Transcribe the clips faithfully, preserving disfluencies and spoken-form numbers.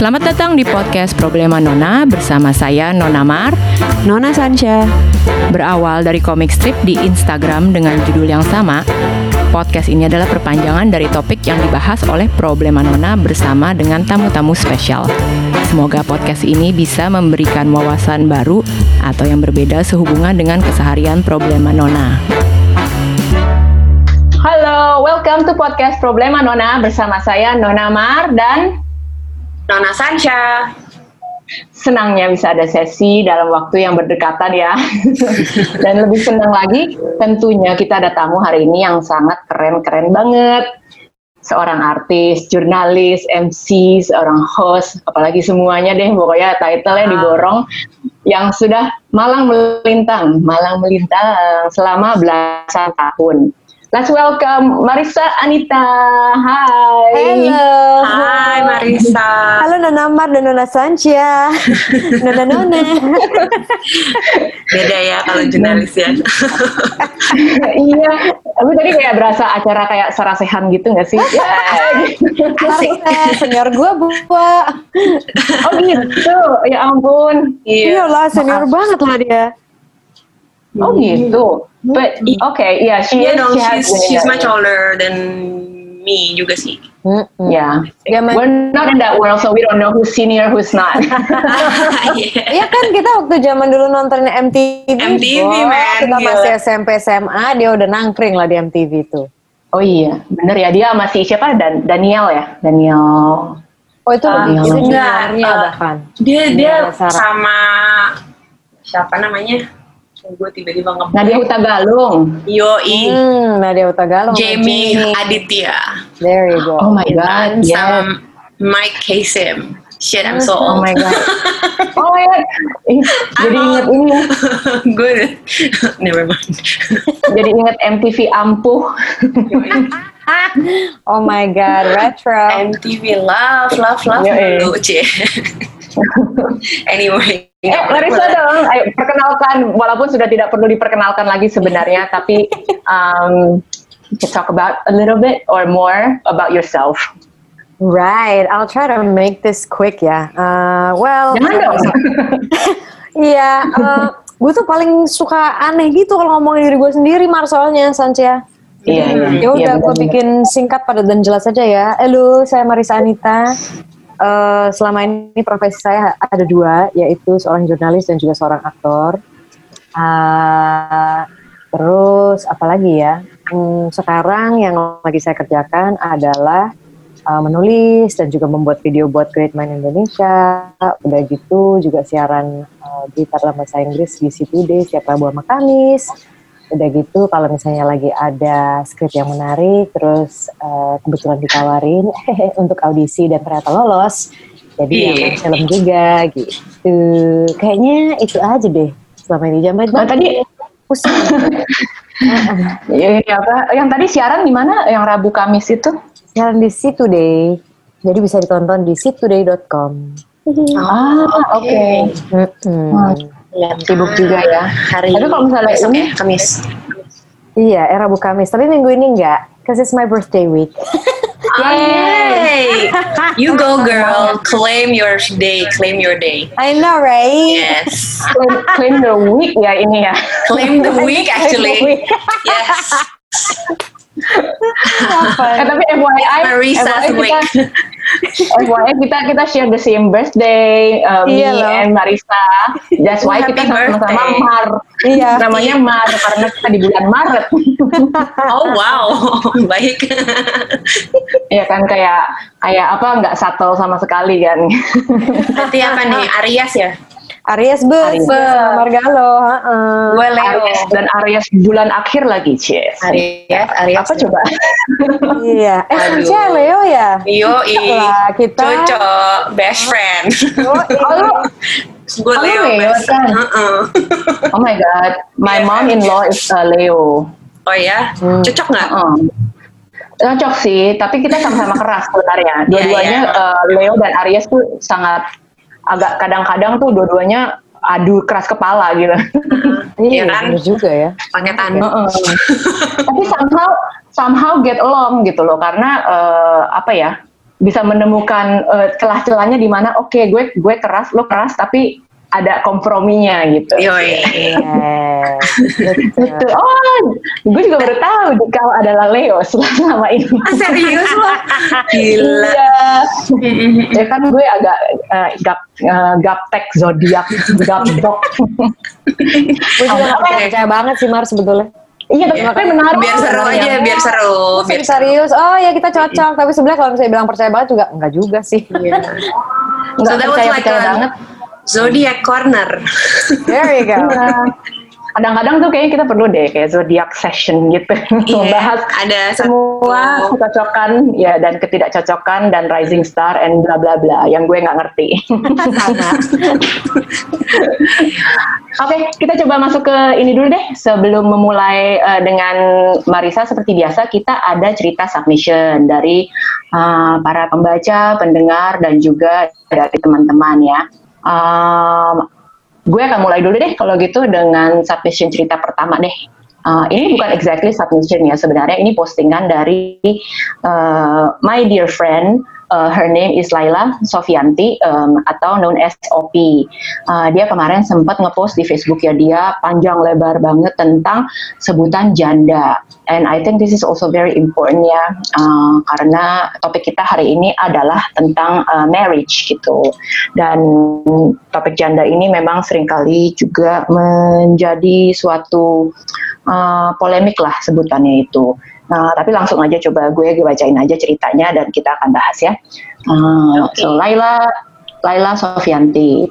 Selamat datang di podcast Problema Nona bersama saya Nona Mar, Nona Sansha. Berawal dari komik strip di Instagram dengan judul yang sama, podcast ini adalah perpanjangan dari topik yang dibahas oleh Problema Nona bersama dengan tamu-tamu spesial. Semoga podcast ini bisa memberikan wawasan baru atau yang berbeda sehubungan dengan keseharian Problema Nona. Halo, welcome to podcast Problema Nona bersama saya Nona Mar dan Nona Sansha. Senangnya bisa ada sesi dalam waktu yang berdekatan ya. Dan lebih senang lagi tentunya kita ada tamu hari ini yang sangat keren-keren banget. Seorang artis, jurnalis, M C, seorang host, apalagi semuanya deh pokoknya title-nya diborong, yang sudah malang melintang, malang melintang selama belasan tahun. Let's welcome Marissa Anita. Hai. Hello. Hai Marissa. Halo Nona Mar dan Nona Sansha. Nona Nona. Beda ya kalau jurnalis ya. Iya, tapi tadi kayak berasa acara kayak sarasehan gitu nggak sih? Ya, gitu. Asik. Senior gue buat. Oh gitu, ya ampun. Iya lah, senior banget lah dia. Oh gitu. But okay, yeah, she Iya is. dong, she has she's, she's been in much that- older than me juga sih. Yeah, Zaman- we're not in that world, so we don't know who's senior, who's not. Yeah. Iya kan kita waktu zaman dulu nontonnya M T V. M T V, Wah, man, Kita gila. masih S M P S M A, dia udah nangkring lah di M T V tuh. Oh iya, bener ya, dia masih siapa? Dan Daniel ya, Daniel. Oh itu Ah, lebih iya. itu enggak, juniornya ah. bahkan. Dia dia Iya, Sarah. sama siapa namanya? Gue tiba-tiba ngeblank. Nadia Hutagalung. Yoi, Hmm, Nadia Hutagalung. sama Jamie Aditya. There you go. Oh my god, Dan yes. sama Mike Kasem. Shit, I'm so Oh old. my god. Oh my god. Ih, jadi I'm inget old. ini ya. Gue never mind. Jadi inget M T V ampuh. Oh my god, retro. M T V love, love, love Yoi. dulu, Cie. Anyway. Eh, Marissa dong, ayo perkenalkan, walaupun sudah tidak perlu diperkenalkan lagi sebenarnya, tapi um, you can talk about a little bit or more about yourself. Right, I'll try to make this quick ya. Uh, well, Jangan dong. Iya, uh, gue tuh paling suka aneh gitu kalau ngomongin diri gue sendiri, Mar, soalnya, Sansha. Iya, iya. Ya udah, Iya, gue benar-benar. bikin singkat, padat dan jelas aja ya. Halo, saya Marissa Anita. Uh, selama ini profesi saya ada dua, yaitu seorang jurnalis dan juga seorang aktor. Uh, terus apalagi ya? Hmm, sekarang yang lagi saya kerjakan adalah uh, menulis dan juga membuat video buat Great Mind Indonesia. Udah gitu juga siaran uh, berita dalam bahasa Inggris di C Today setiap Rabu sama Kamis. Udah gitu kalau misalnya lagi ada skrip yang menarik, terus uh, kebetulan ditawarin untuk audisi dan ternyata lolos, jadi ya main film juga gitu. Kayaknya itu aja deh selama ini. Jam Oh, tadi pusing. ya, ya, apa? Yang tadi siaran di mana? Yang Rabu Kamis itu? Siaran di C Today, jadi bisa ditonton di c today dot com. Ah, oke. Hmm. Ya, Sibuk juga ya. Hari Tapi kalau misalnya besok ini- ya, Kamis. Iya, eh, Rabu Kamis. Tapi minggu ini enggak, cause it's my birthday week. Yay! You go girl, claim your day, claim your day. I know, right? Yes. Claim, claim the week ya ini ya. Claim the week actually. Yes. Eh, tapi F Y I, Marissa's F Y I week. kita, F Y I kita kita share the same birthday, uh, me Iya loh. and Marissa. That's why Happy kita sama-sama birthday. Mar. Iya. Namanya Mar karena kita di bulan Maret. Oh wow, baik. Iya kan kayak kayak apa nggak subtle sama sekali kan. Berarti apa nih, Aries ya? Aries be, Aries. sama Margalo, heeh. Gue Leo. Aries dan Aries bulan akhir lagi, Cies. Aries, Aries. Apa coba? Iya, eh Aduh. Sansha Leo ya? Yoi, Lah, kita- cocok, best friend. Oh, Oh, lu, Gue Oh, Leo, Leo best kan? Heeh. oh my god, my Iya. mom-in-law is uh, Leo. Oh ya, Hmm. cocok nggak? Heeh. Cocok sih, tapi kita sama-sama keras sebenarnya. Dua-duanya Iya, iya. uh, Leo dan Aries tuh sangat agak kadang-kadang tuh dua-duanya adu keras kepala gitu. Iya Iya kan? bener juga ya. Pakai tanduk. Tapi somehow somehow get along gitu loh, karena uh, apa ya? bisa menemukan uh, celah-celahnya di mana oke okay, gue gue keras, lo keras, tapi ada komprominya gitu. Yoi. Gitu. Oh, gue juga baru tahu kau adalah Leo selama ini. Ah, serius loh? Gila. Iya. Ya kan gue agak uh, gap uh, gaptek zodiak, gapdok. Gue juga gak percaya banget sih Mar sebetulnya. Iya, tapi menarik. Biar seru aja, biar seru. Biar serius. Oh ya kita cocok. Tapi sebenarnya kalau misalnya bilang percaya banget juga enggak juga sih. Iya. Enggak So that was percaya, like percaya a banget. Zodiac corner. There you go. Kadang-kadang tuh kayaknya kita perlu deh kayak zodiac session gitu, Iya, membahas ada semua satu kecocokan ya dan ketidakcocokan dan rising star and bla bla bla yang gue nggak ngerti. Sama. Oke, kita coba masuk ke ini dulu deh. Sebelum memulai uh, dengan Marisa, seperti biasa kita ada cerita submission dari uh, para pembaca, pendengar, dan juga dari teman-teman ya. Um, gue akan mulai dulu deh kalau gitu dengan submission cerita pertama deh. Uh, ini bukan exactly submission ya sebenarnya, ini postingan dari uh, my dear friend. Uh, her name is Laila Sofianti um, atau known as O P. Uh, dia kemarin sempat ngepost di Facebook ya, dia panjang lebar banget tentang sebutan janda. And I think this is also very important ya, uh, karena topik kita hari ini adalah tentang uh, marriage gitu. Dan topik janda ini memang seringkali juga menjadi suatu uh, polemik lah sebutannya itu. Nah, tapi langsung aja coba gue, gue bacain aja ceritanya dan kita akan bahas ya. Uh, so Laila, Laila Sofianti.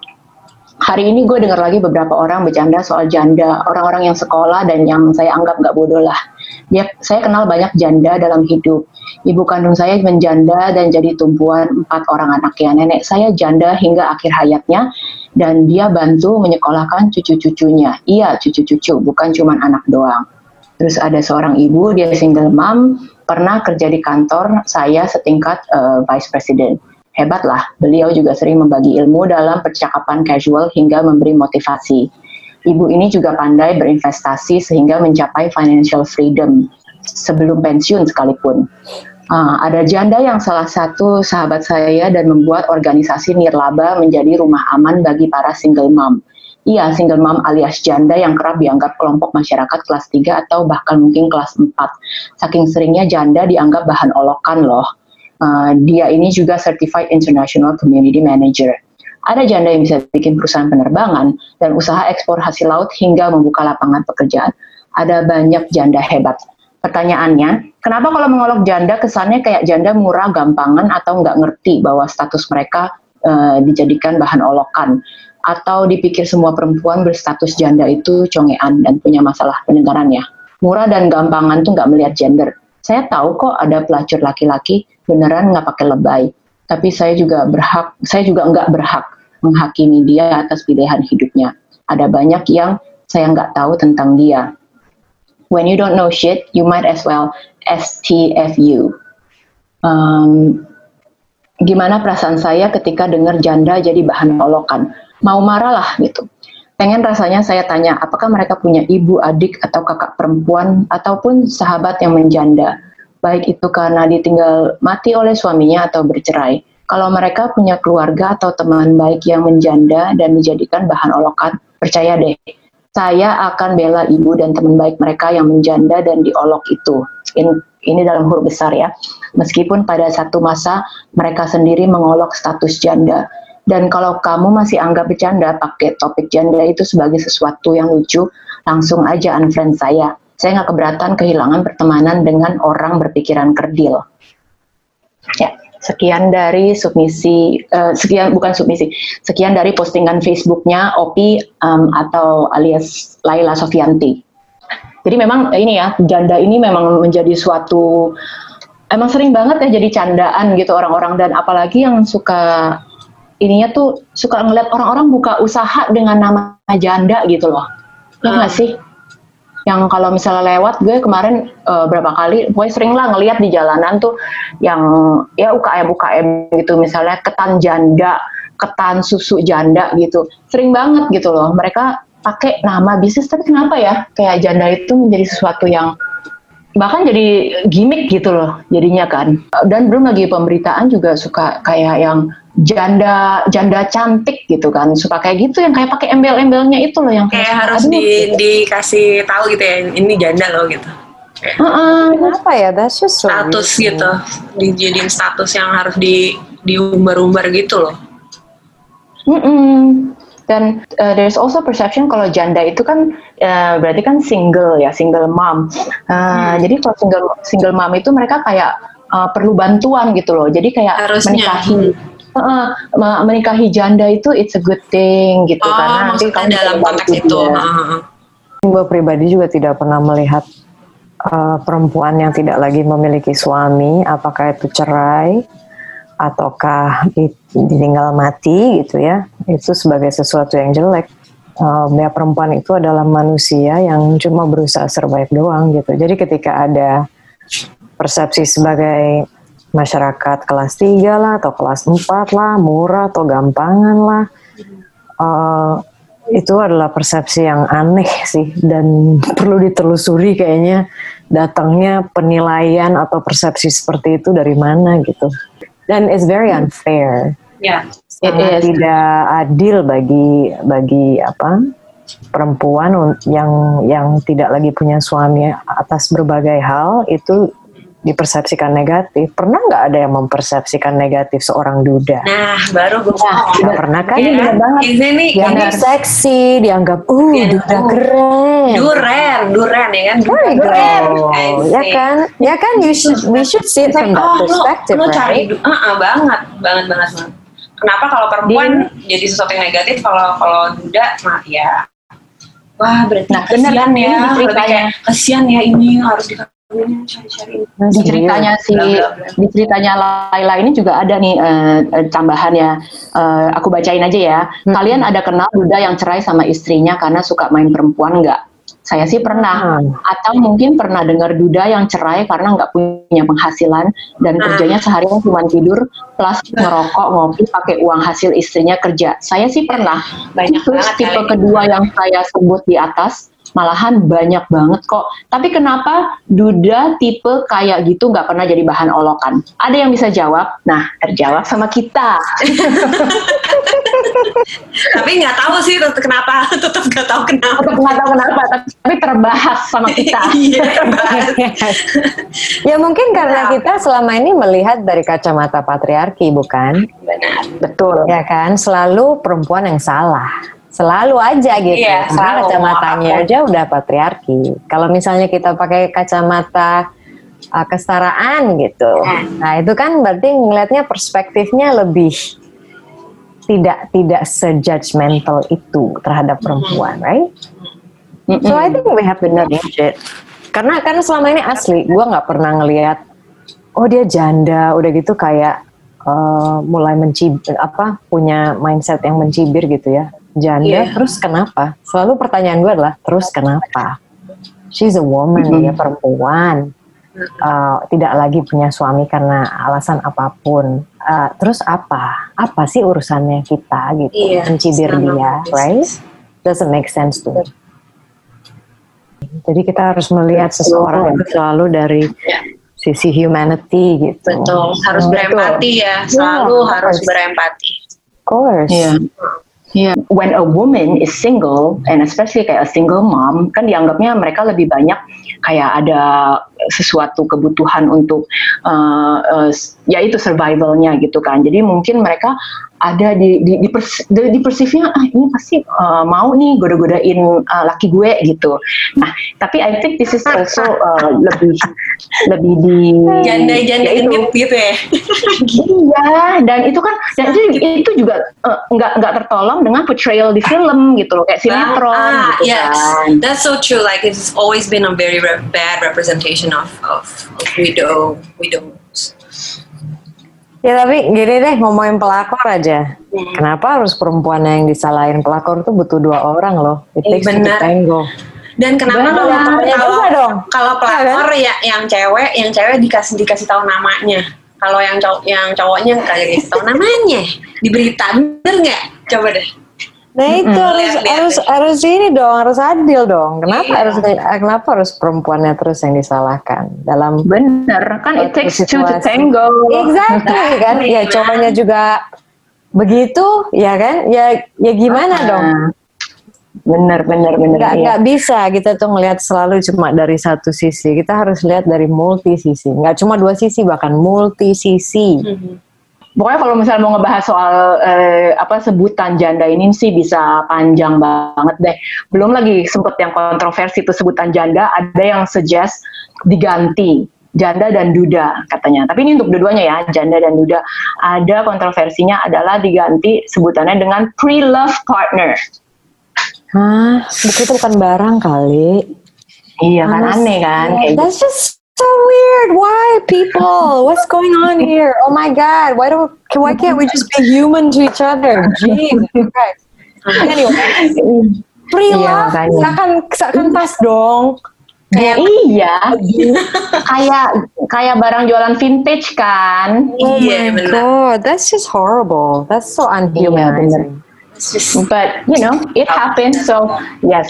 Hari ini gue dengar lagi beberapa orang bercanda soal janda, orang-orang yang sekolah dan yang saya anggap nggak bodoh lah. Dia, saya kenal banyak janda dalam hidup. Ibu kandung saya menjanda dan jadi tumpuan empat orang anaknya. Nenek saya janda hingga akhir hayatnya dan dia bantu menyekolahkan cucu-cucunya. Iya, cucu-cucu, bukan cuma anak doang. Terus ada seorang ibu, dia single mom, pernah kerja di kantor saya setingkat uh, vice president. Hebatlah, beliau juga sering membagi ilmu dalam percakapan casual hingga memberi motivasi. Ibu ini juga pandai berinvestasi sehingga mencapai financial freedom sebelum pensiun sekalipun. Uh, ada janda yang salah satu sahabat saya dan membuat organisasi nirlaba menjadi rumah aman bagi para single mom. Iya, single mom alias janda yang kerap dianggap kelompok masyarakat kelas tiga atau bahkan mungkin kelas empat. Saking seringnya janda dianggap bahan olokan loh. Uh, dia ini juga Certified International Community Manager. Ada janda yang bisa bikin perusahaan penerbangan dan usaha ekspor hasil laut hingga membuka lapangan pekerjaan. Ada banyak janda hebat. Pertanyaannya, kenapa kalau mengolok janda kesannya kayak janda murah, gampangan, atau nggak ngerti bahwa status mereka uh, dijadikan bahan olokan? Atau dipikir semua perempuan berstatus janda itu congean dan punya masalah pendengarannya. Murah dan gampangan tuh nggak melihat gender. Saya tahu kok ada pelacur laki-laki beneran nggak pakai lebay. Tapi saya juga berhak, saya juga nggak berhak menghakimi dia atas pilihan hidupnya. Ada banyak yang saya nggak tahu tentang dia. When you don't know shit, you might as well S T F U. Um, gimana perasaan saya ketika dengar janda jadi bahan olokan? Mau marah lah gitu. Pengen rasanya saya tanya, apakah mereka punya ibu, adik, atau kakak perempuan, ataupun sahabat yang menjanda. Baik itu karena ditinggal mati oleh suaminya atau bercerai. Kalau mereka punya keluarga atau teman baik yang menjanda dan dijadikan bahan olokan, percaya deh, saya akan bela ibu dan teman baik mereka yang menjanda dan diolok itu. In, ini dalam huruf besar ya. Meskipun pada satu masa mereka sendiri mengolok status janda. Dan kalau kamu masih anggap bercanda pakai topik janda itu sebagai sesuatu yang lucu, langsung aja unfriend saya. Saya nggak keberatan kehilangan pertemanan dengan orang berpikiran kerdil. Ya, sekian dari submisi, uh, sekian bukan submisi, sekian dari postingan Facebooknya O P um, atau alias Laila Sofianti. Jadi memang ini ya, janda ini memang menjadi suatu, emang sering banget ya jadi candaan gitu orang-orang, dan apalagi yang suka ininya tuh suka ngeliat orang-orang buka usaha dengan nama janda gitu loh. Ya nggak sih? Yang kalau misalnya lewat, gue kemarin uh, berapa kali, gue sering lah ngeliat di jalanan tuh yang ya U K M U K M gitu, misalnya ketan janda, ketan susu janda gitu. Sering banget gitu loh. Mereka pakai nama bisnis, tapi kenapa ya kayak janda itu menjadi sesuatu yang bahkan jadi gimmick gitu loh jadinya kan. Dan belum lagi pemberitaan juga suka kayak yang janda janda cantik gitu kan, suka kayak gitu yang kayak pakai embel-embelnya itu loh yang Kayak suka, harus aduh, di, gitu. dikasih tahu gitu ya, ini janda loh gitu. Uh-uh. Kenapa ya? That's just so Status weird. gitu, dijadiin status yang harus di diumbar-umbar gitu loh. Mm-mm. Dan uh, there's also perception kalau janda itu kan uh, berarti kan single ya, single mom. Uh, hmm. Jadi kalau single single mom itu mereka kayak uh, perlu bantuan gitu loh. Jadi kayak harusnya menikahi uh, menikahi janda itu it's a good thing gitu. Oh, karena nanti maksudnya dalam konteks itu. Gue pribadi juga tidak pernah melihat uh, perempuan yang tidak lagi memiliki suami, apakah itu cerai ataukah ditinggal mati gitu ya, itu sebagai sesuatu yang jelek. Uh, ya perempuan itu adalah manusia yang cuma berusaha survive doang gitu. Jadi ketika ada persepsi sebagai masyarakat kelas tiga lah atau kelas empat lah, murah atau gampangan lah, uh, itu adalah persepsi yang aneh sih dan perlu ditelusuri kayaknya datangnya penilaian atau persepsi seperti itu dari mana gitu. Dan it's very unfair. Ya, yeah, tidak adil bagi bagi apa perempuan yang yang tidak lagi punya suami atas berbagai hal itu dipersepsikan negatif. Pernah nggak ada yang mempersepsikan negatif seorang duda? Nah, baru gue nah, tidak pernah kan? Ini benar banget. Ini dianggap seksi, dianggap uh ya, duda uh, keren. Duren, duren ya kan? Duren, duren. Ya kan? Ya kan? You should, we should see it from that oh, perspective, lo, lo right? cari, uh, uh, banget, banget, banget, banget. Kenapa kalau perempuan Di, jadi sesuatu yang negatif, kalau kalau duda, nah ya, wah berarti nah, kesian ya, lebih kayak kesian ya ini harus dikawinin, cari-cari. Di ceritanya si, di ceritanya Laila ini juga ada nih uh, tambahan ya. Uh, aku bacain aja ya. Hmm. Kalian ada kenal duda yang cerai sama istrinya karena suka main perempuan nggak? Saya sih pernah. Hmm. Atau mungkin pernah dengar duda yang cerai karena nggak punya penghasilan dan hmm. kerjanya seharian cuma tidur plus ngerokok, ngopi pakai uang hasil istrinya kerja. Saya sih pernah. Banyak Terus tipe kedua ini. Yang saya sebut di atas. Malahan banyak banget kok. Tapi kenapa duda tipe kayak gitu nggak pernah jadi bahan olokan? Ada yang bisa jawab? Nah, terjawab sama kita. Tapi nggak tahu sih kenapa. Tetap nggak tahu kenapa. Tetap nggak tahu kenapa. Tapi terbahas sama kita. Iya, terbahas. Ya mungkin karena kita selama ini melihat dari kacamata patriarki, bukan? Benar. Betul. Ya kan? Selalu perempuan yang salah. Selalu aja gitu, iya, karena kacamatanya aja udah patriarki. Kalau misalnya kita pakai kacamata uh, kesetaraan gitu, hmm. nah itu kan berarti ngelihatnya perspektifnya lebih tidak tidak sejudgmental itu terhadap perempuan, right? Mm-hmm. So I think we have to change it. Karena karena selama ini asli, gue nggak pernah ngelihat, oh dia janda, udah gitu kayak uh, mulai mencibir, apa punya mindset yang mencibir gitu ya. Janda, yeah. Terus kenapa? Selalu pertanyaan gue adalah, terus kenapa? She's a woman, mm-hmm. dia perempuan, uh, tidak lagi punya suami karena alasan apapun. Uh, terus apa? Apa sih urusannya kita gitu? Yeah. Mencibir dia, right? Doesn't make sense tuh. Jadi kita harus melihat seseorang itu selalu dari yeah. sisi humanity gitu. Betul, harus oh, berempati ya, selalu yeah, harus berempati. Of course. Yeah. Yeah. When a woman is single, and especially kayak a single mom, kan dianggapnya mereka lebih banyak kayak ada sesuatu kebutuhan untuk uh, uh, yaitu survivalnya gitu kan. Jadi mungkin mereka ada di di di, pers, di, di persifnya ah ini pasti uh, mau nih goda-godain uh, laki gue gitu. Nah, tapi I think this is also uh, lebih lebih di janda-janda ya gitu ya. Iya, dan itu kan dan itu, itu juga uh, nggak nggak tertolong dengan portrayal di film gitu loh, kayak sinetron ah, gitu yes. kan. That's so true. Like it's always been a very re- bad representation of of, of widow widows. Ya tapi gini deh, ngomongin pelakor aja. Hmm. Kenapa harus perempuan yang disalahin? Pelakor tuh butuh dua orang loh. It takes two to tango. Dan kenapa kalau kalau kalau pelakor ya yang cewek, yang cewek dikasih dikasih tahu namanya. Kalau yang cowok yang cowoknya kayak dikasih tahu namanya di berita, bener nggak? Coba deh. Nah itu Mm-mm. harus Lihat-lihat. harus harus ini dong, harus adil dong. Kenapa Iya. harus kenapa harus perempuannya terus yang disalahkan dalam Bener, kan it takes two to situasi. tango. Exactly kan? Ya cowoknya juga begitu, ya kan? Ya ya gimana Ah, dong? Bener, bener, bener. Nggak iya. nggak bisa kita tuh ngelihat selalu cuma dari satu sisi. Kita harus lihat dari multi sisi. Nggak cuma dua sisi, bahkan multi sisi. Mhm. Pokoknya kalau misalnya mau ngebahas soal eh, apa sebutan janda ini sih bisa panjang banget deh. Belum lagi sempet yang kontroversi itu sebutan janda, ada yang suggest diganti janda dan duda katanya. Tapi ini untuk dua-duanya ya, janda dan duda. Ada kontroversinya adalah diganti sebutannya dengan pre-love partner. Hah, itu bukan barang kali. Iya kan, Honest- aneh kan? Yeah, Kayak gitu. that's just so weird. Why people? What's going on here? Oh my God! Why don't? Why can't we just be human to each other? Jesus Christ. Anyway, pre-love Iya, makanya. seakan seakan pas dong. Ya, iya, kayak kayak barang jualan vintage kan. Oh Iya, my benar. God, that's just horrible. That's so unhumanizing. It's just But you know, it happens. So yes.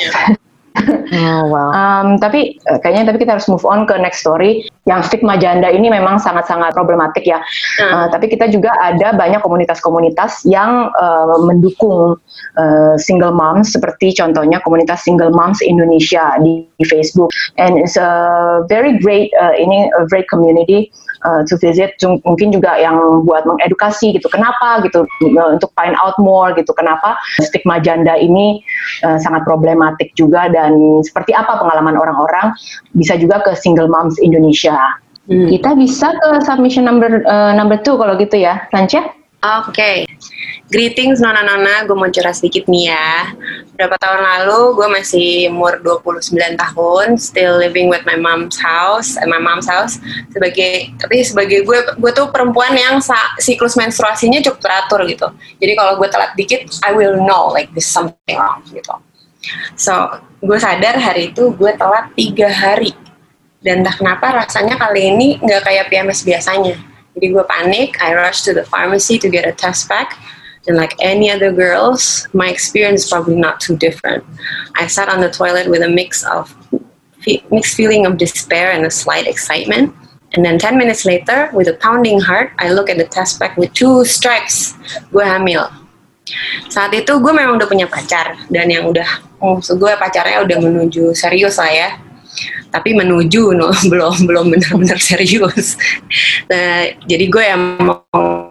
Oh wow. Um, tapi eh, kayaknya tapi kita harus move on ke next story. Yang stigma janda ini memang sangat-sangat problematik ya. Hmm. Uh, tapi kita juga ada banyak komunitas-komunitas yang uh, mendukung uh, single moms, seperti contohnya komunitas Single Moms Indonesia di, di Facebook. And it's a very great uh, ini a great community uh, to visit. Jung- Mungkin juga yang buat mengedukasi gitu. Kenapa gitu uh, untuk find out more gitu. Kenapa stigma janda ini uh, sangat problematik juga, dan seperti apa pengalaman orang-orang. Bisa juga ke Single Moms Indonesia. Hmm. Kita bisa ke submission number uh, number two kalau gitu ya, Sancha? Oke, greetings nona-nona, gue mau curhat sedikit nih ya. Berapa tahun lalu gue masih umur dua puluh sembilan tahun, still living with my mom's house, at my mom's house. Sebagai, tapi sebagai gue, gue tuh perempuan yang sa- siklus menstruasinya cukup teratur gitu. Jadi kalau gue telat dikit, I will know like there's something wrong gitu. So, gue sadar hari itu gue telat tiga hari. Dan entah kenapa rasanya kali ini nggak kayak P M S biasanya. Jadi gue panik, I rush to the pharmacy to get a test pack. And like any other girls, my experience is probably not too different. I sat on the toilet with a mix of fe- mixed feeling of despair and a slight excitement. And then ten minutes later, with a pounding heart, I look at the test pack with two strikes. Gue hamil. Saat itu gue memang udah punya pacar, dan yang udah, maksud gue pacarnya udah menuju serius lah ya. Tapi menuju no, belum belum benar-benar serius. Nah, jadi gue yang mau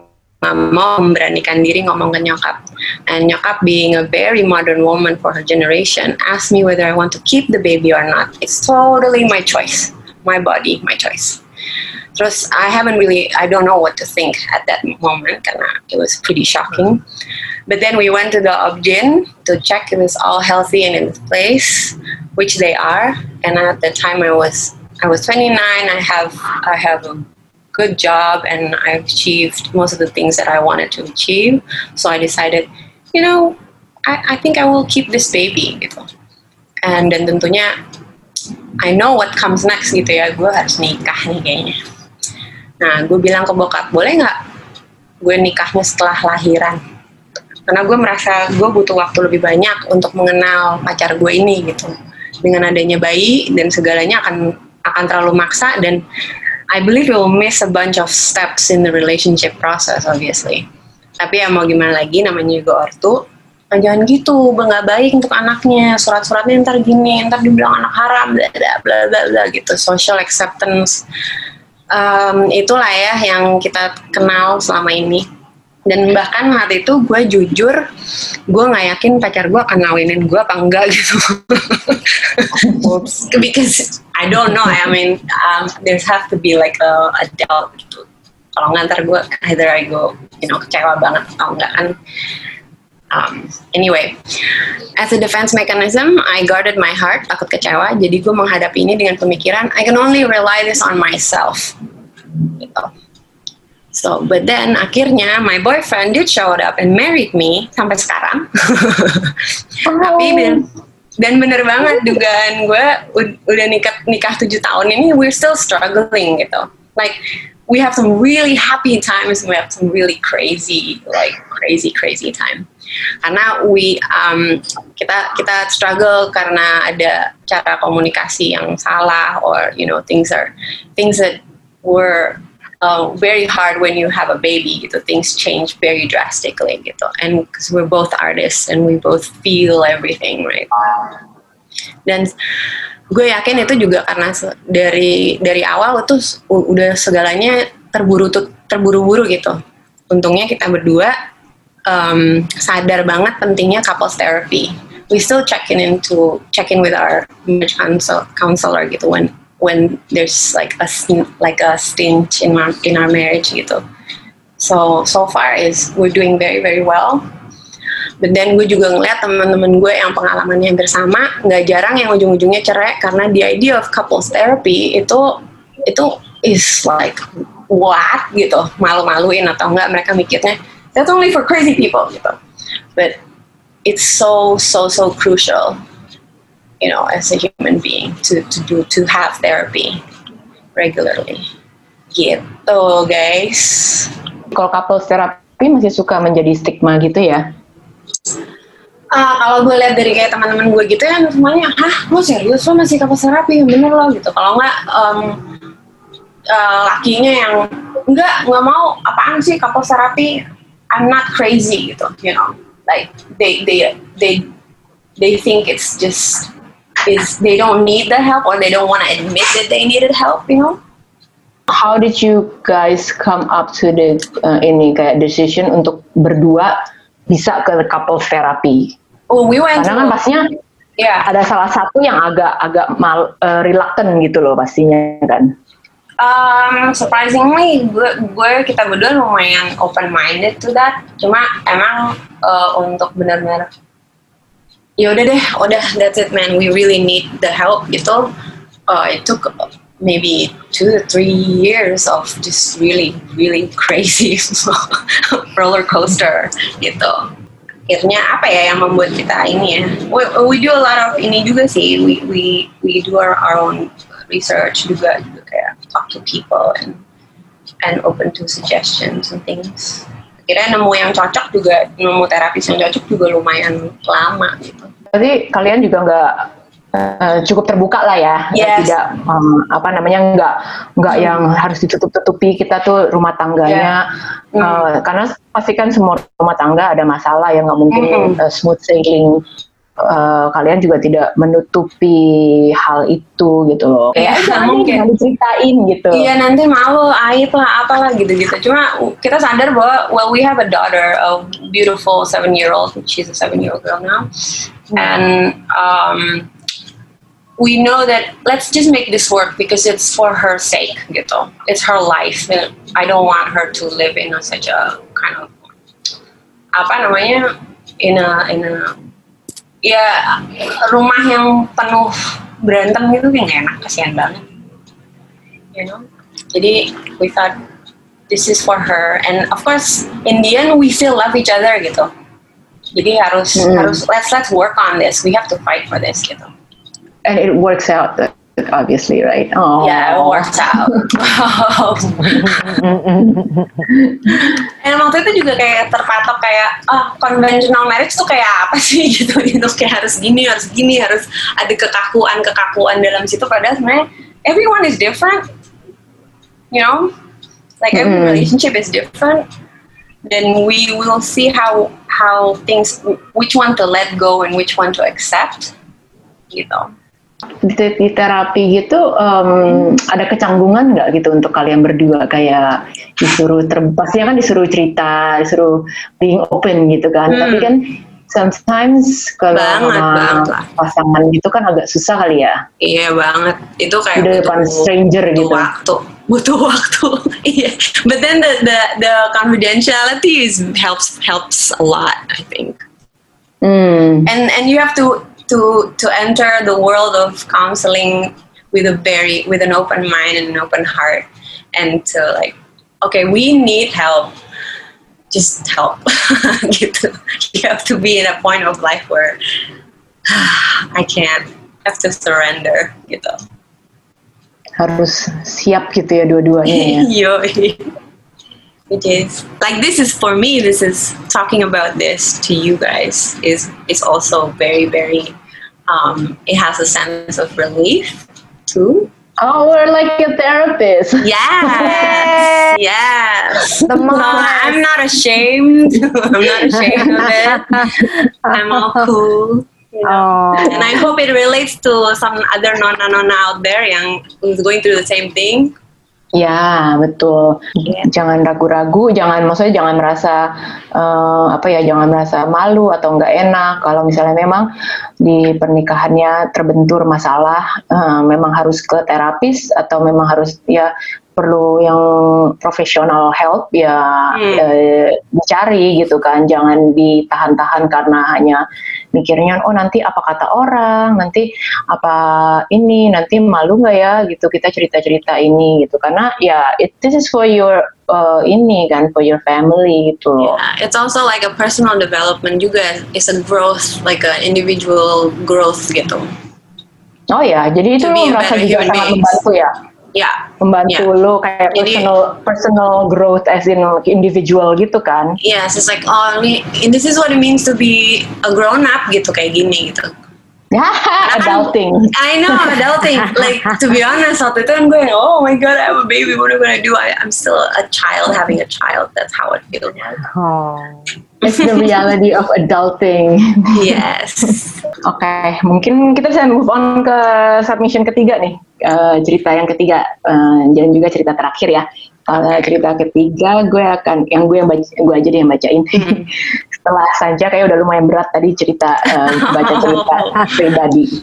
mau memberanikan diri ngomong ke nyokap. And nyokap, being a very modern woman for her generation, asked me whether I want to keep the baby or not. It's totally my choice, my body, my choice. Terus I haven't really, I don't know what to think at that moment karena it was pretty shocking. But then we went to the Obgyn to check if it's all healthy and in its place, which they are. And at the time I was I was twenty-nine. I have I have a good job and I've achieved most of the things that I wanted to achieve. So I decided, you know, I, I think I will keep this baby gitu. And dan tentunya I know what comes next gitu ya. Gue harus nikah nih kayaknya. Nah, gue bilang ke bokap, boleh nggak gue nikahnya setelah lahiran? Karena gue merasa gue butuh waktu lebih banyak untuk mengenal pacar gue ini gitu. Dengan adanya bayi dan segalanya akan akan terlalu maksa, dan I believe we'll miss a bunch of steps in the relationship process obviously. Tapi ya mau gimana lagi, namanya juga ortu. Nah, jangan gitu, nggak baik untuk anaknya. Surat-suratnya ntar gini, ntar dibilang anak haram, bla bla bla bla bla gitu. Social acceptance, um, itulah ya yang kita kenal selama ini. Dan bahkan saat itu gue jujur, gue nggak yakin pacar gue akan ngawinin gue apa enggak gitu. Because I don't know, I mean, um, there's have to be like a, a doubt gitu. Kalau nggak ntar gue either I go, you know, kecewa banget atau enggak kan. Um, anyway, as a defense mechanism, I guarded my heart, takut kecewa. Jadi gue menghadapi ini dengan pemikiran, I can only rely this on myself. Gitu. So, but then akhirnya my boyfriend did showed up and married me sampai sekarang. Oh. Tapi dan, dan bener banget dugaan gue udah nikah nikah tujuh tahun ini, we're still struggling gitu. like we have some really happy times and we have some really crazy like crazy crazy time karena we um, kita kita struggle karena ada cara komunikasi yang salah or you know things are things that were uh, very hard when you have a baby gitu, things change very drastically gitu, and because we're both artists and we both feel everything, right? Dan gue yakin itu juga karena dari dari awal itu udah segalanya terburu terburu-buru gitu. Untungnya kita berdua um, sadar banget pentingnya couples therapy. We still check in into check in with our marriage counsel, counselor gitu when when there's like a like a stint in our in our marriage gitu. So so far is we're doing very very well. But then gue juga ngeliat teman-teman gue yang pengalamannya hampir sama, nggak jarang yang ujung-ujungnya cerai karena the idea of couples therapy itu itu is like what gitu, malu-maluin atau enggak, mereka mikirnya that's only for crazy people gitu. But it's so so so crucial, you know, as a human being to to do to have therapy regularly. Gitu guys. Kalau couples therapy masih suka menjadi stigma gitu ya? Uh, kalau gue lihat dari kayak teman-teman gue gitu ya, semuanya, hah, lo serius lo masih couples terapi, bener lo gitu. Kalau nggak, um, uh, lakinya yang enggak, nggak mau, apaan sih couples terapi? I'm not crazy gitu, you know. Like they they they they think it's just is they don't need the help or they don't want to admit that they needed help, you know. How did you guys come up to the uh, ini kayak decision untuk berdua bisa ke couples therapy? Oh, we went Karena kan pastinya yeah. ada salah satu yang agak agak mal uh, reluctant gitu loh pastinya kan. Um, surprisingly, gue, gue kita berdua lumayan open minded to that. Cuma emang uh, untuk benar-benar, ya udah deh, udah that's it man. We really need the help gitu. Uh, it took maybe two to three years of just really really crazy roller coaster gitu. Akhirnya apa ya yang membuat kita ini ya? We, we do a lot of ini juga sih. We we we do our, our own research juga, juga kayak talk to people and and open to suggestions and things. Akhirnya nemu yang cocok juga, nemu terapis yang cocok juga lumayan lama gitu. Jadi kalian juga nggak uh, cukup terbuka lah ya, yes. Tidak um, apa namanya nggak nggak hmm. yang harus ditutup-tutupi kita tuh rumah tangganya, yeah. hmm. uh, karena pasti kan semua rumah tangga ada masalah yang nggak mungkin hmm. uh, smooth sailing. Uh, kalian juga tidak menutupi hal itu gitu loh. Kayak ya, mungkin diceritain gitu. Iya nanti malu, aib lah, apalah gitu-gitu. Cuma kita sadar bahwa well we have a daughter, a beautiful seven year old. She's a seven year old girl now, hmm. and um, we know that let's just make this work because it's for her sake gitu. It's her life. And I don't want her to live in a, such a kind of apa namanya in a in a ya rumah yang penuh berantem gitu kan gak enak, kasihan banget, you know. Jadi we thought this is for her and of course in the end we still love each other gitu. Jadi harus hmm. harus let's let's work on this, we have to fight for this gitu. And it works out obviously, right? Oh. Yeah, it works out. And waktu itu juga kayak terpatok kayak, ah, conventional marriage tuh kayak apa sih gitu, gitu kayak harus gini, harus gini, harus ada kekakuan-kekakuan dalam situ. Padahal sebenarnya everyone is different, you know, like every mm. relationship is different. Then we will see how how things, which one to let go and which one to accept, gitu. Di, di terapi gitu um, ada kecanggungan nggak gitu untuk kalian berdua kayak disuruh ter, pastinya kan disuruh cerita, disuruh being open gitu kan, hmm. tapi kan sometimes kalau sama pasangan gitu kan agak susah kali ya. Iya banget, itu kayak di depan butuh, stranger butuh gitu. Waktu, butuh waktu. Iya, but then the the the confidentiality is helps helps a lot, I think. Hmm. And and you have to. to to enter the world of counseling with a very with an open mind and an open heart, and to like, okay, we need help, just help. Gitu. You have to be in a point of life where I can't, I have to surrender gitu. harus siap gitu ya dua-duanya ya. Yo, which is like this is for me. This is talking about this to you guys is is also very very. Um, it has a sense of relief too. Oh, we're like a therapist. Yes, yes. The No, I'm not ashamed. I'm not ashamed of it. I'm all cool. You know? Oh. And I hope it relates to some other nona-nona out there yang who's going through the same thing. Ya, betul. Yeah. Jangan ragu-ragu, jangan maksudnya jangan merasa uh, apa ya, jangan merasa malu atau nggak enak kalau misalnya memang di pernikahannya terbentur masalah, uh, memang harus ke terapis atau memang harus ya perlu yang profesional help ya Hmm. eh, dicari gitu kan, jangan ditahan-tahan karena hanya mikirnya oh nanti apa kata orang, nanti apa ini, nanti malu nggak ya gitu kita cerita-cerita ini gitu, karena ya it, this is for your uh, ini kan, for your family gitu loh. Yeah, it's also like a personal development juga. It's a growth, like a individual growth gitu. Oh ya, jadi itu To be lo a merasa better juga human sangat beings. membantu ya, Yeah. membantu Yeah. lo kayak Jadi- personal personal growth as in like individual gitu kan. Yes, it's like oh ini this is what it means to be a grown up gitu kayak gini gitu. Ya, adulting. I know adulting. Like to be honest, waktu itu kan gue oh my god, I have a baby. What am I gonna do? I, I'm still a child having a child. That's how it feels. Oh. It's the reality of adulting. Yes. Oke, mungkin kita bisa move on ke submission ketiga nih, uh, cerita yang ketiga, uh, dan juga cerita terakhir ya. Kalau cerita ketiga, gue akan, yang gue yang baca, gue aja deh yang bacain. Hmm. Setelah saja kayak udah lumayan berat tadi cerita, uh, baca cerita pribadi.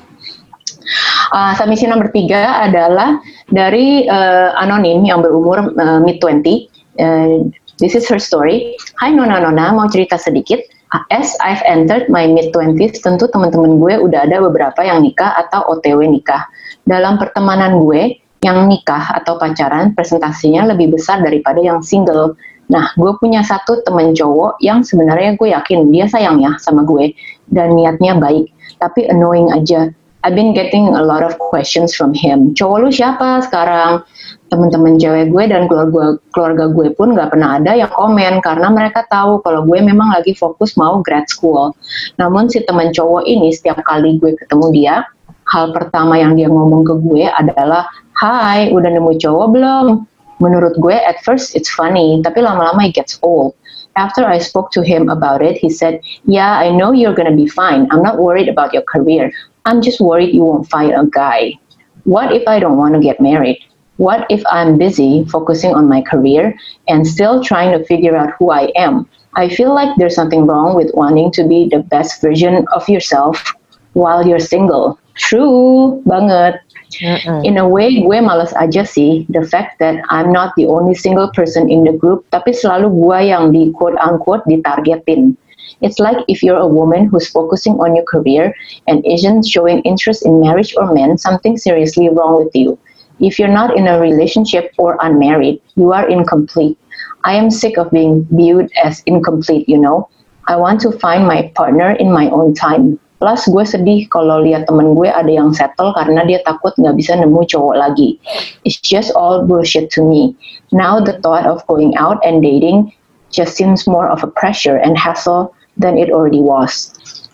Uh, submission nomor tiga adalah dari uh, anonim yang berumur uh, mid twenty. Uh, this is her story. Hai Nona-Nona, mau cerita sedikit. As I've entered my mid twenties, tentu teman-teman gue udah ada beberapa yang nikah atau O T W nikah. Dalam pertemanan gue, yang nikah atau pacaran presentasinya lebih besar daripada yang single. Nah, gue punya satu temen cowok yang sebenarnya gue yakin dia sayang ya sama gue dan niatnya baik, tapi annoying aja. I've been getting a lot of questions from him. Cowok lu siapa sekarang? Temen-temen cewek gue dan keluarga, keluarga gue pun gak pernah ada yang komen karena mereka tahu kalau gue memang lagi fokus mau grad school. Namun si temen cowok ini setiap kali gue ketemu dia, hal pertama yang dia ngomong ke gue adalah, "Hai, udah nemu cowok belum?" Menurut gue at first it's funny, tapi lama-lama it gets old. After I spoke to him about it, he said, "Yeah, I know you're gonna be fine. I'm not worried about your career. I'm just worried you won't find a guy. What if I don't want to get married? What if I'm busy focusing on my career and still trying to figure out who I am? I feel like there's something wrong with wanting to be the best version of yourself while you're single." True banget. Mm-mm. In a way, gue males aja sih the fact that I'm not the only single person in the group, tapi selalu gue yang di quote-unquote ditargetin. It's like if you're a woman who's focusing on your career and isn't showing interest in marriage or men, something seriously wrong with you. If you're not in a relationship or unmarried, you are incomplete. I am sick of being viewed as incomplete, you know. I want to find my partner in my own time. Plus gue sedih kalau lihat temen gue ada yang settle karena dia takut nggak bisa nemu cowok lagi. It's just all bullshit to me. Now the thought of going out and dating just seems more of a pressure and hassle than it already was.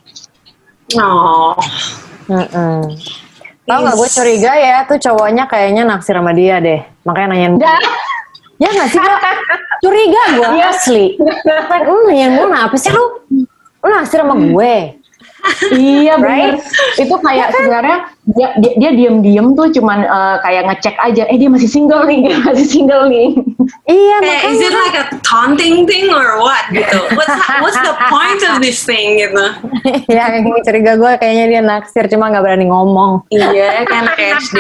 Oh. Mm-mm. Tau gak, gue curiga ya tuh cowoknya kayaknya naksir sama dia deh, makanya nanyain. Ya gak sih Kak? Curiga gue asli. Like, lu nanyain gue apa sih lu? Lu naksir sama gue? Iya benar. Right? Itu kayak sebenarnya dia, dia, dia diem-diem tuh cuman uh, kayak ngecek aja, eh dia masih single nih, dia masih single nih. Iya Eh, makanya. is it like a taunting thing or what gitu? What's what's the point of this thing gitu? Ya yang curiga gue kayaknya dia naksir cuma gak berani ngomong. Iya, kan kayak S D.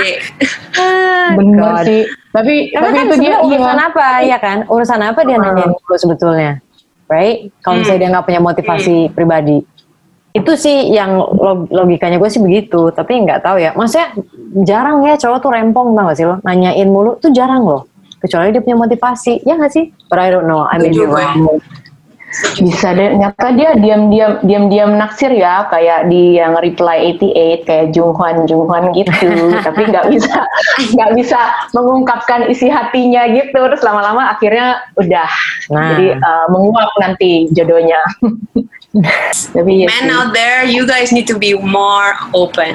Bener God. sih. Tapi Karena tapi kan itu dia sebenarnya urusan iya. apa ya kan? Urusan apa dia Hmm. nanyain dulu sebetulnya, right? Kalau misalnya dia nggak punya motivasi pribadi, itu sih yang log- logikanya gue sih begitu. Tapi nggak tahu ya. Maksudnya jarang ya cowok tuh rempong, tau gak sih lo? Nanyain mulu tuh jarang loh. Kecuali dia punya motivasi, ya nggak sih? But I don't know. I may be Setuju gue. wrong. Bisa deh, nyata dia diam-diam diam-diam naksir ya, kayak di yang reply delapan puluh delapan kayak Junghwan Junghwan gitu, tapi nggak bisa nggak bisa mengungkapkan isi hatinya gitu, terus lama-lama akhirnya udah, Nah. jadi uh, menguap nanti jodohnya. Tapi ya Men sih. out there, you guys need to be more open.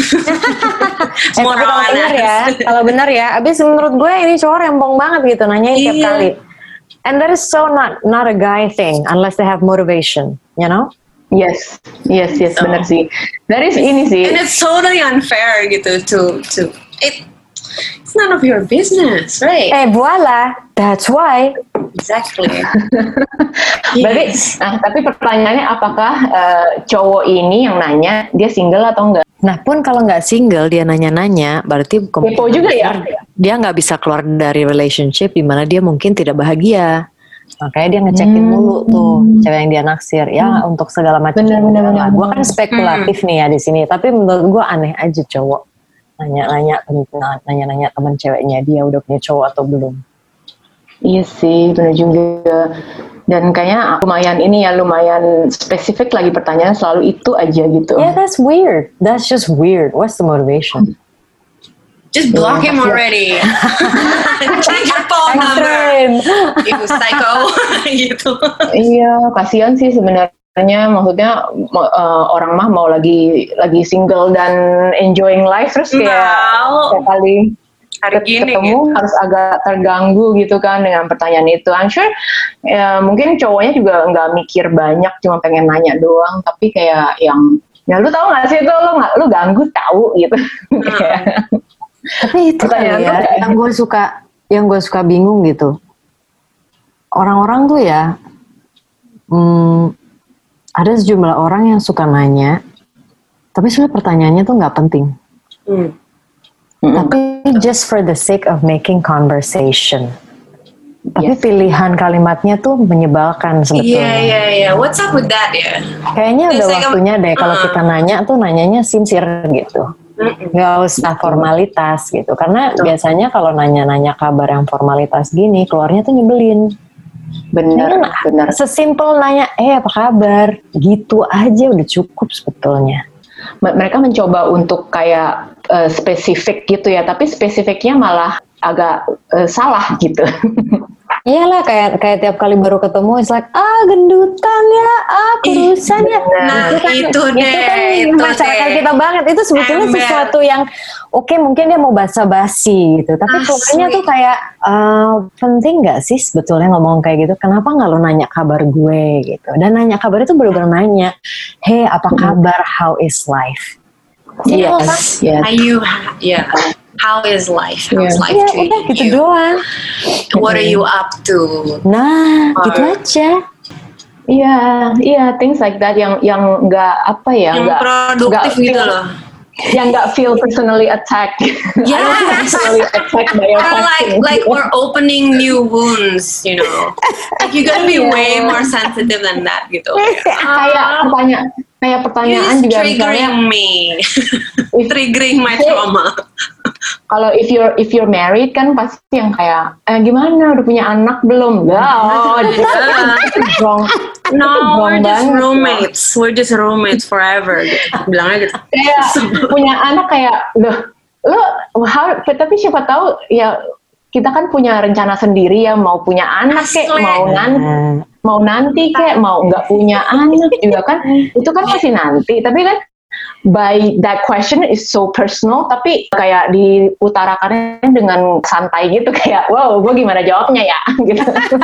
Eh, More tapi kalau benar ya, honest. kalau benar ya, abis menurut gue ini cowok rempong banget gitu, nanyain tiap Iya. kali. And that is so not not a guy thing unless they have motivation, you know? Yes, yes, yes, So- benar sih. Dari ini sih. And it's totally unfair gitu to to it. It's none of your business, right? Eh, voila, that's why. Exactly. Berarti, Yes. nah tapi pertanyaannya apakah uh, cowok ini yang nanya dia single atau enggak? Nah pun kalau nggak single dia nanya-nanya, berarti Kepo juga ya? dia nggak bisa keluar dari relationship di mana dia mungkin tidak bahagia. Makanya dia ngecekin Hmm. mulu tuh cewek yang dia naksir. Ya untuk segala macam. Bener, bener, bener. Gue kan spekulatif nih ya di sini. Tapi menurut gue aneh aja cowok nanya-nanya tentang nanya-nanya teman ceweknya dia udah punya cowok atau belum. Iya sih, benar juga. Dan kayaknya lumayan ini ya, lumayan spesifik lagi pertanyaan selalu itu aja gitu. Yeah, that's weird. That's just weird. What's the motivation? Just block him already. Change your phone number. Extreme. You psycho. gitu. Iya, kasihan sih sebenarnya. Maksudnya mo- uh, orang mah mau lagi lagi single dan enjoying life terus kayak Mau. setiap kali Hari ket- gini ketemu gitu. harus agak terganggu gitu kan dengan pertanyaan itu. I'm sure ya, mungkin cowoknya juga nggak mikir banyak, cuma pengen nanya doang. Tapi kayak yang, ya lu tahu nggak sih itu lu nggak lu ganggu tahu gitu. Kayak, Tapi itu kali Pertanyaan ya, tuh kayak- yang gue suka, yang gue suka bingung gitu. Orang-orang tuh ya, hmm, ada sejumlah orang yang suka nanya, tapi sebenarnya pertanyaannya tuh nggak penting. Hmm. Mm-mm. Tapi just for the sake of making conversation. Tapi Yes. pilihan kalimatnya tuh menyebalkan Iya, sebetulnya. iya, iya. What's up with that ya? Kayaknya udah It's like a- waktunya deh kalau uh. kita nanya tuh nanyanya sincere gitu. Mm-mm. Nggak usah formalitas gitu. Karena Betul. biasanya kalau nanya-nanya kabar yang formalitas gini, keluarnya tuh nyebelin. Bener, Ini bener. sesimpel nanya, eh apa kabar? Gitu aja udah cukup sebetulnya. M- mereka mencoba untuk kayak uh, spesifik gitu ya, tapi spesifiknya malah agak uh, salah gitu. Iyalah kayak kayak tiap kali baru ketemu, it's like ah gendutan ya, ah kurusan ya. Nah, kan, itu deh, kan itu masyarakat deh. kita banget. Itu sebetulnya Ember. sesuatu yang oke mungkin dia mau basa-basi gitu, tapi Asli. keluarnya tuh kayak eh, penting nggak sih sebetulnya ngomong kayak gitu? Kenapa nggak lo nanya kabar gue gitu? Dan nanya kabar itu bener-bener nanya, hey apa kabar? How is life? Yes, yes. Are you, yeah. How is life? How's Yeah. life Ya treating udah gitu you? doang. What are you up to? Nah, Or- gitu aja. Iya, iya, things like that yang yang nggak apa ya, Yang nggak produktif nggak gitu feel- loh. yang nggak feel personally attacked. I don't feel Yes. personally attacked by your Or like question. like we're opening new wounds, you know. Like you gotta be way more sensitive than that gitu. kayak pertanyaan, kayak pertanyaan You're juga misalnya, triggering me, triggering my trauma. kalau if you're if you're married kan pasti yang kayak, eh, gimana udah punya anak belum? Enggak, oh, itu itu wrong. Itu No, wrong we're just banget. roommates. We're just roommates forever. Gitu. Bilangnya gitu. Kayak punya anak kayak, loh, lo, how, tapi siapa tahu ya kita kan punya rencana sendiri ya, mau punya anak kek, Asli. mau nanti, Nah, mau nanti kek, mau nggak punya anak juga kan, itu kan masih nanti. Tapi kan by that question is so personal, tapi kayak diutarakannya dengan santai gitu, kayak wow, gue gimana jawabnya ya gitu.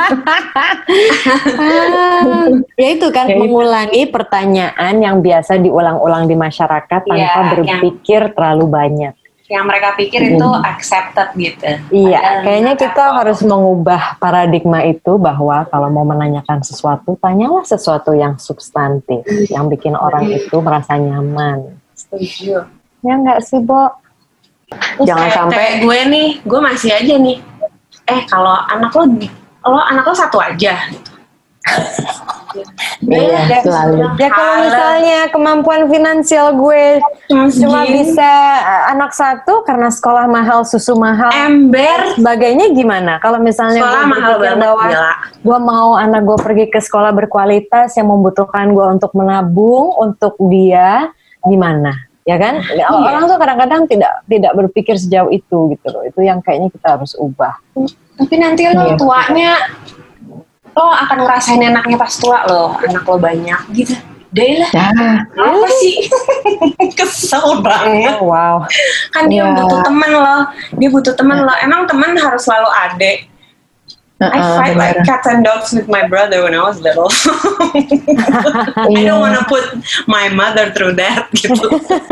Ah, ya itu kan Ya itu. mengulangi pertanyaan yang biasa diulang-ulang di masyarakat tanpa Iya, berpikir terlalu banyak. Yang mereka pikir itu accepted gitu. Iya, Padahal kayaknya nggak. kita harus mengubah paradigma itu bahwa kalau mau menanyakan sesuatu, tanyalah sesuatu yang substantif, yang bikin orang itu merasa nyaman. Setuju. Ya enggak sih, Bo? Terus Jangan kayak- sampai- kayak gue nih, gue masih aja nih. Eh kalau anak lo, lo anak lo satu aja. Gitu. Iya, selalu. Ya kalau misalnya kemampuan finansial gue cuma bisa anak satu karena sekolah mahal, susu mahal, ember, sebagainya gimana? Kalau misalnya sekolah gue mahal berpikir banget, bahwa gila. gue mau anak gue pergi ke sekolah berkualitas yang membutuhkan gue untuk menabung untuk dia, gimana? Ya kan? Iya. Orang tuh kadang-kadang tidak tidak berpikir sejauh itu gitu loh. Itu yang kayaknya kita harus ubah. Tapi nanti lo Iya. tuanya, lo akan ngerasain enaknya pas tua lo, anak lo banyak gitu. Deh lah, Nah, apa sih? Kesel banget. Oh, wow. Kan dia Iya. butuh temen lo, dia butuh temen lo. Emang temen harus selalu ada. I uh-uh, fight like bener. cats and dogs with my brother when I was little. I don't wanna put my mother through that gitu.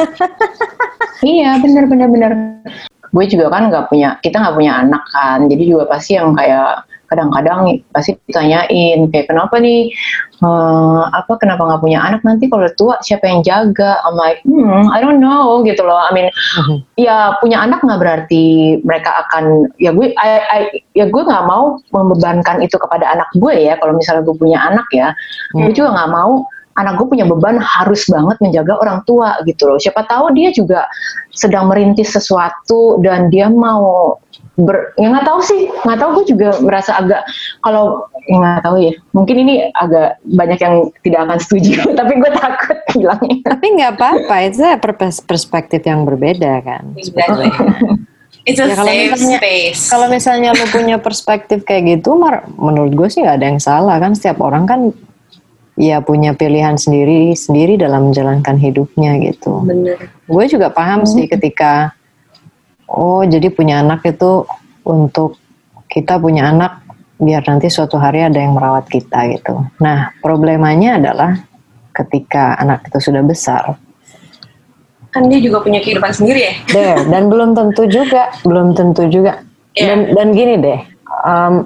Iya, bener bener bener. Gue juga kan nggak punya, kita nggak punya anak kan, jadi juga pasti yang kayak kadang-kadang pasti ditanyain kayak kenapa nih, eh, apa kenapa nggak punya anak, nanti kalau tua siapa yang jaga? I'm like, hmm, I don't know gitu loh. I mean, Mhm. ya punya anak nggak berarti mereka akan, ya gue, I, I- ya gue nggak mau membebankan itu kepada anak gue ya. Kalau misalnya gue punya anak ya, gue juga nggak mau anak gue punya beban harus banget menjaga orang tua gitu loh. Siapa tahu dia juga sedang merintis sesuatu dan dia mau ber, ya nggak tahu sih, nggak tahu, gue juga merasa agak, kalau ya nggak tahu ya, mungkin ini agak banyak yang tidak akan setuju, tapi gue takut bilangnya. Tapi nggak apa-apa, itu pers- perspektif yang berbeda kan. Exactly. It's a Ya, kalau safe misalnya- space. Kalau misalnya lo punya perspektif kayak gitu, mar- menurut gue sih nggak ada yang salah kan. Setiap orang kan ya punya pilihan sendiri sendiri dalam menjalankan hidupnya gitu. Bener. Gue juga paham sih ketika oh jadi punya anak itu untuk kita punya anak biar nanti suatu hari ada yang merawat kita gitu. Nah problemanya adalah ketika anak itu sudah besar, Kan dia juga punya kehidupan sendiri ya. there, dan belum tentu juga, belum tentu juga. Dan dan gini deh, um,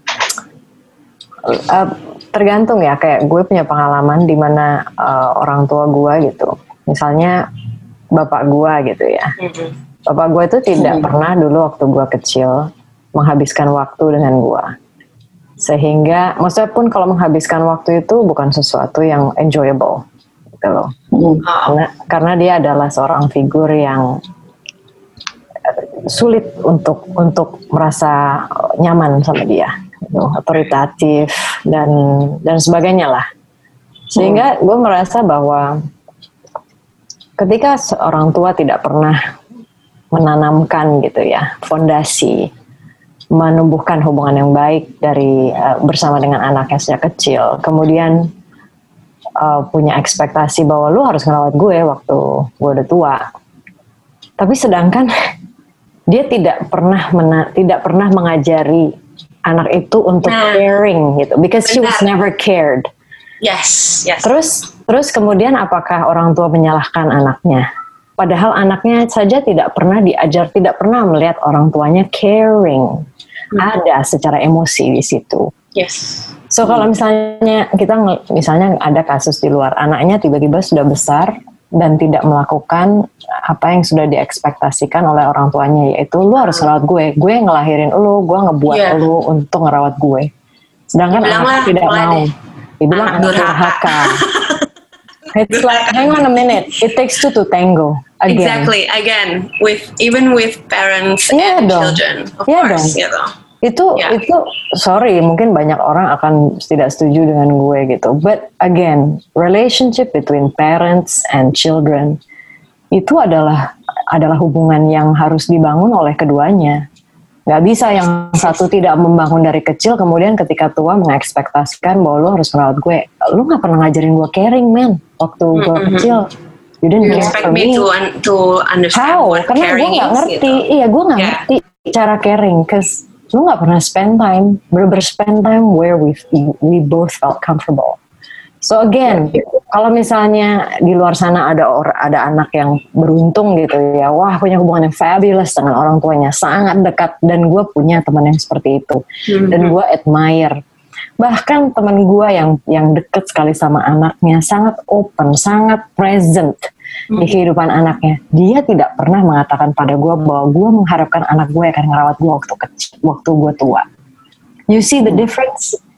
uh, tergantung ya. Kayak gue punya pengalaman di mana uh, orang tua gue gitu, misalnya bapak gue gitu ya. Bapak gue itu tidak pernah dulu waktu gue kecil menghabiskan waktu dengan gue. Sehingga, maksudnya pun kalau menghabiskan waktu itu bukan sesuatu yang enjoyable gitu loh. Karena, karena dia adalah seorang figur yang sulit untuk untuk merasa nyaman sama dia, gitu, otoritatif dan dan sebagainya lah. Sehingga gue merasa bahwa ketika seorang tua tidak pernah menanamkan gitu ya fondasi, menumbuhkan hubungan yang baik dari uh, bersama dengan anaknya sejak kecil, kemudian uh, punya ekspektasi bahwa lu harus ngerawat gue waktu gue udah tua, tapi sedangkan dia tidak pernah mena- tidak pernah mengajari anak itu untuk Nah. caring gitu, because she was Benar. never cared. Yes, yes. Terus terus kemudian apakah orang tua menyalahkan anaknya? Padahal anaknya saja tidak pernah diajar, tidak pernah melihat orang tuanya caring. Ada secara emosi di situ. Yes. So kalau misalnya kita nge- misalnya ada kasus di luar, anaknya tiba-tiba sudah besar dan tidak melakukan apa yang sudah diekspektasikan oleh orang tuanya, yaitu lu harus ngerawat gue, gue ngelahirin lu, gue ngebuat Iya. lu untuk ngerawat gue. Sedangkan Dibilang anaknya lah, tidak mulai mau. deh. Dibilang Anak anak durhaka. durhaka. It's like, hang on a minute, it takes two to tango. Again. Exactly. Again, with even with parents Iya and dong. children, of Iya course, dong. gitu. Itu Ya. itu sorry, mungkin banyak orang akan tidak setuju dengan gue gitu. But again, relationship between parents and children itu adalah adalah hubungan yang harus dibangun oleh keduanya. Gak bisa yang satu tidak membangun dari kecil, kemudian ketika tua mengekspektasikan bahwa lu harus merawat gue. Lu gak pernah ngajarin gue caring, man. Waktu gue Mm-hmm. kecil, you didn't You care expect for me me. to un- to understand How? what Karena gue caring gak is, ngerti. gitu. Iya, gue gak Yeah. ngerti cara caring. Cause lu gak pernah spend time, bener-bener spend time where we we both felt comfortable. So again, kalau misalnya di luar sana ada or, ada anak yang beruntung gitu ya, wah punya hubungan yang fabulous dengan orang tuanya, sangat dekat, dan gue punya teman yang seperti itu, dan gue admire. Bahkan teman gue yang yang deket sekali sama anaknya, sangat open, sangat present di kehidupan anaknya. Dia tidak pernah mengatakan pada gue bahwa gue mengharapkan anak gue akan ngerawat gue waktu kecil, waktu gue tua. You see the difference?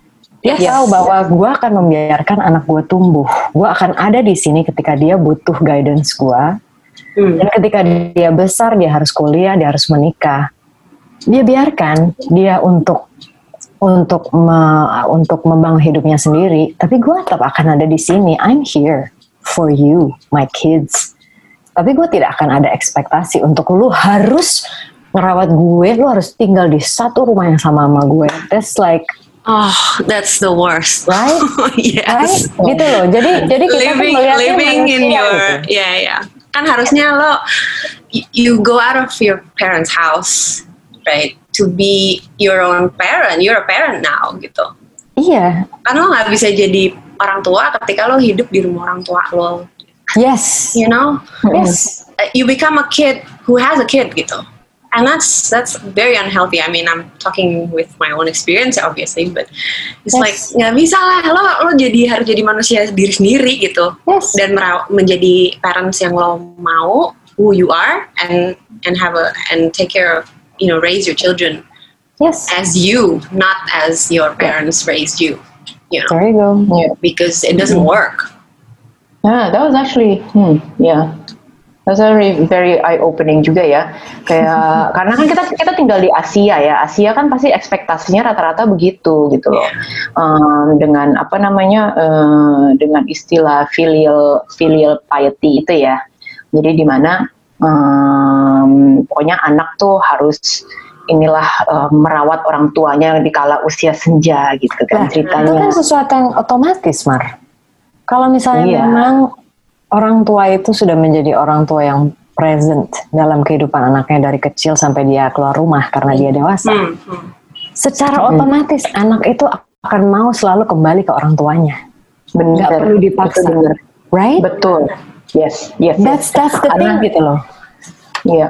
Dia Yes. tahu bahwa gue akan membiarkan anak gue tumbuh. Gue akan ada di sini ketika dia butuh guidance gue. Hmm. Dan ketika dia besar, dia harus kuliah, dia harus menikah. Dia biarkan dia untuk untuk me, untuk membangun hidupnya sendiri. Tapi gue tetap akan ada di sini. I'm here for you, my kids. Tapi gue tidak akan ada ekspektasi untuk lu harus ngerawat gue, lu harus tinggal di satu rumah yang sama sama gue. That's like, Oh, that's the worst. right? Yes. Right? Gitu loh. Jadi jadi kita tuh Living, melihatnya living in manusia your, gitu. ya ya. Kan harusnya lo, y- you go out of your parents' house, right? To be your own parent. You're a parent now, gitu. Iya. Kan lo nggak bisa jadi orang tua ketika lo hidup di rumah orang tua lo. Yes. You know, Yes. Uh, you become a kid who has a kid, gitu. And that's that's very unhealthy. I mean, I'm talking with my own experience, obviously, but it's Yes. like nggak bisa lah lo lo jadi harus jadi manusia diri sendiri gitu, Yes. dan meraw- menjadi parents yang lo mau, who you are, and and have a and take care of, you know, raise your children Yes. as you, not as your parents raised you, you know, There you go. Yeah. because it doesn't work. Yeah, that was actually, hmm, yeah. That's very very eye opening juga ya. Kayak karena kan kita kita tinggal di Asia ya. Asia kan pasti ekspektasinya rata-rata begitu gitu loh. Um, dengan apa namanya uh, dengan istilah filial filial piety itu ya. Jadi di mana um, pokoknya anak tuh harus inilah uh, merawat orang tuanya di kala usia senja gitu kan Nah, ceritanya. itu kan sesuatu yang otomatis, Mar. Kalau misalnya Iya. memang orang tua itu sudah menjadi orang tua yang present dalam kehidupan anaknya dari kecil sampai dia keluar rumah karena dia dewasa. Hmm, hmm. Secara otomatis anak itu akan mau selalu kembali ke orang tuanya. Bener. Nggak perlu dipaksa. Itu bener. Right? Betul. Yes, yes. That's yes. that's the thing Karena- gitu loh. Iya.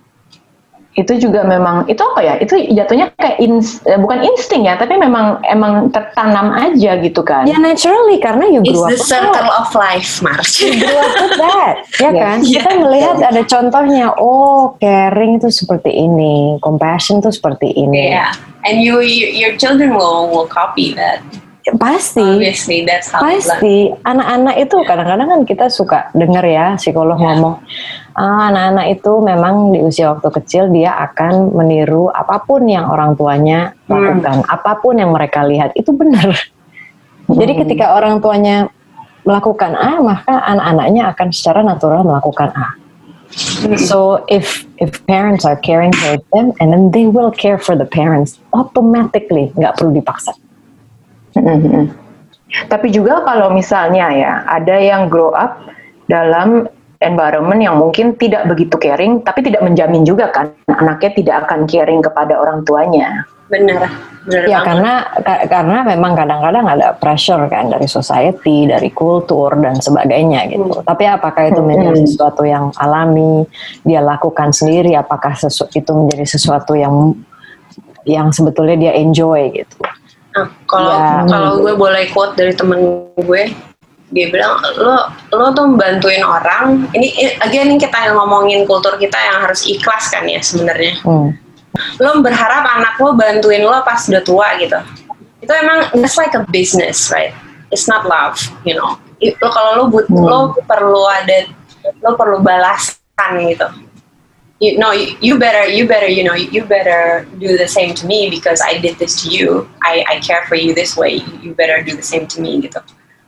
Itu juga memang itu apa ya? Itu jatuhnya kayak ins, eh, bukan insting ya, tapi memang emang tertanam aja gitu kan. Ya naturally karena you It's grew up the with circle that. of life, Mars. You grew up with that, ya Yes. kan? Kita melihat ada contohnya. Oh, caring itu seperti ini, compassion itu seperti ini. Yeah, and you, you your children will will copy that. Pasti. Obviously, that's how they learn. Pasti anak-anak itu kadang-kadang kan kita suka dengar ya psikolog Ya. ngomong ah, anak-anak itu memang di usia waktu kecil dia akan meniru apapun yang orang tuanya lakukan, apapun yang mereka lihat itu benar. Jadi ketika orang tuanya melakukan A, maka anak-anaknya akan secara natural melakukan A. So if if parents are caring for them, and then they will care for the parents automatically, nggak perlu dipaksa. Mm-hmm. Tapi juga kalau misalnya ya ada yang grow up dalam environment yang mungkin tidak begitu caring, tapi tidak menjamin juga kan anaknya tidak akan caring kepada orang tuanya. Bener, bener Ya banget. karena ka- karena memang kadang-kadang ada pressure kan dari society, dari kultur dan sebagainya gitu. Tapi apakah itu menjadi sesuatu yang alami, dia lakukan sendiri? Apakah sesu- itu menjadi sesuatu yang yang sebetulnya dia enjoy gitu? Nah, kalau Ya. kalau gue boleh quote dari temen gue, dia bilang lo lo tuh bantuin orang. Ini i- again kita ngomongin kultur kita yang harus ikhlas kan ya sebenarnya. Hmm. Lo berharap anak lo bantuin lo pas udah tua gitu. Itu emang it's like a business, right? It's not love, you know. I- Lo kalau lo but lo perlu ada lo perlu balasan gitu. You no, you, you better, you better, you know, you better do the same to me because I did this to you. I, I care for you this way. You better do the same to me, gitu.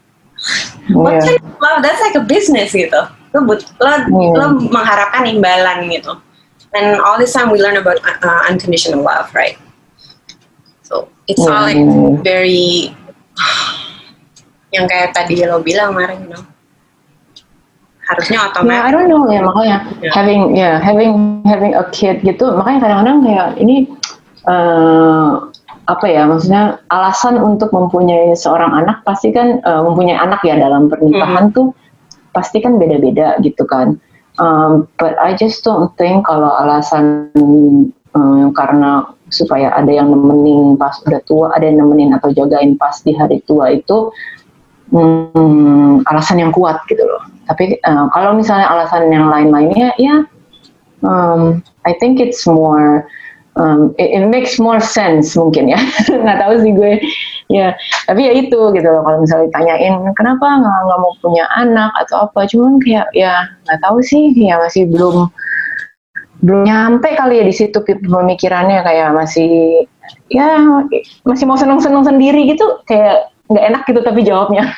What Yeah. kind of love? That's like a business, gitu. Lo, but, lo, lo mengharapkan imbalan, gitu. And all this time we learn about uh, unconditional love, right? So it's all like Yeah. very, yang kayak tadi lo bilang, Mara, you know. Harusnya Nah, I otomatis. don't know ya makanya Yeah. having ya yeah, having having a kid gitu makanya kadang-kadang kayak ini eh, apa ya maksudnya alasan untuk mempunyai seorang anak pasti kan eh, mempunyai anak ya dalam pernikahan tuh pasti kan beda-beda gitu kan. Um, but I just don't think kalau alasan eh, karena supaya ada yang nemenin pas udah tua, ada yang nemenin atau jagain pas di hari tua itu hmm, alasan yang kuat gitu loh. Tapi uh, kalau misalnya alasan yang lain-lainnya, ya, um, I think it's more, um, it, it makes more sense mungkin ya. Nggak tahu sih gue. Ya, tapi ya itu gitu loh. Kalau misalnya ditanyain kenapa nggak nggak mau punya anak atau apa, cuman kayak ya nggak tahu sih, ya masih belum belum nyampe kali ya di situ pemikirannya, kayak masih ya masih mau seneng-seneng sendiri gitu, kayak nggak enak gitu tapi jawabnya.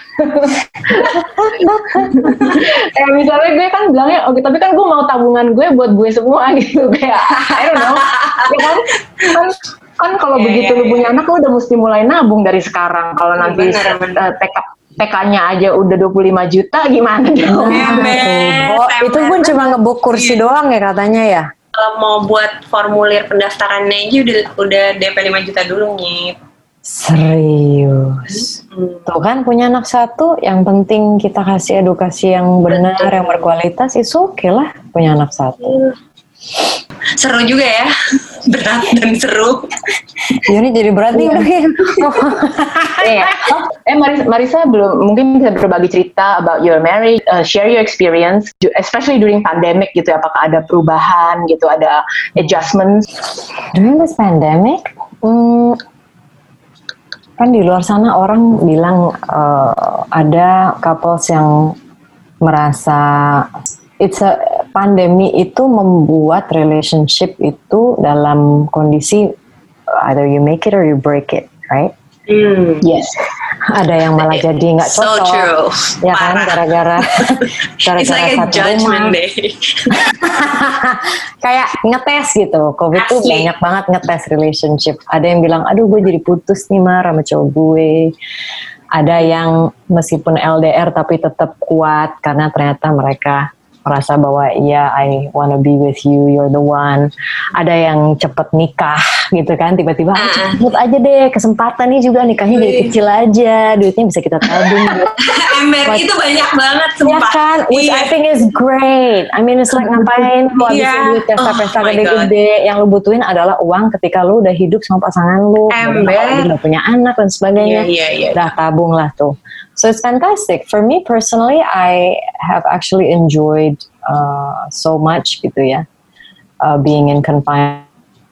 Kayak misalnya gue kan bilangnya oke, tapi kan gue mau tabungan gue buat gue semua gitu, kayak I don't know, ya kan kan, kan kalau yeah, begitu yeah, lu punya yeah. anak lu udah mesti mulai nabung dari sekarang. Kalau nanti Bener, bener. uh, T K T K-nya aja udah dua puluh lima juta gimana dong? Nah, oh, itu pun cuma ngebuk kursi doang ya katanya ya. Kalau mau buat formulir pendaftarannya aja udah udah D P lima juta dulu nih. Serius. Hmm. Tuh kan punya anak satu, yang penting kita kasih edukasi yang benar, Betul. yang berkualitas, itu oke lah punya anak satu. Seru juga ya, berat dan seru. Ya ini jadi berat nih. Eh, oh, eh Marisa, Marisa belum mungkin bisa berbagi cerita about your marriage, uh, share your experience, especially during pandemic gitu. Apakah ada perubahan gitu, ada adjustments? During this pandemic, hmm, kan di luar sana orang bilang uh, ada couples yang merasa it's a pandemi itu membuat relationship itu dalam kondisi either you make it or you break it, right? Hmm. Yes. Ada yang malah jadi nggak So cocok, true. ya kan, Parah. gara-gara gara-gara It's like a satu judgment rumah. day. Kayak ngetes gitu. Covid tuh Asli. banyak banget ngetes relationship. Ada yang bilang, aduh gue jadi putus nih Mar sama cowok gue. Ada yang meskipun L D R tapi tetap kuat karena ternyata mereka merasa bahwa iya, I wanna be with you, you're the one. Ada yang cepet nikah gitu kan, tiba-tiba ah, cepet aja deh, kesempatan nih juga nikahnya jadi kecil aja, duitnya bisa kita tabung. Ember itu banyak banget Ya sumpah. kan, which Iya. I think is great. I mean it's like ngapain lu habisin Iya. duit pesta-pesta Oh my gede-gede, yang lu butuhin adalah uang ketika lu udah hidup sama pasangan lu, Ember. udah punya anak dan sebagainya, Iya, iya, iya. udah tabung lah tuh. So it's fantastic. For me personally, I have actually enjoyed uh, so much gitu ya, uh, being in confinement.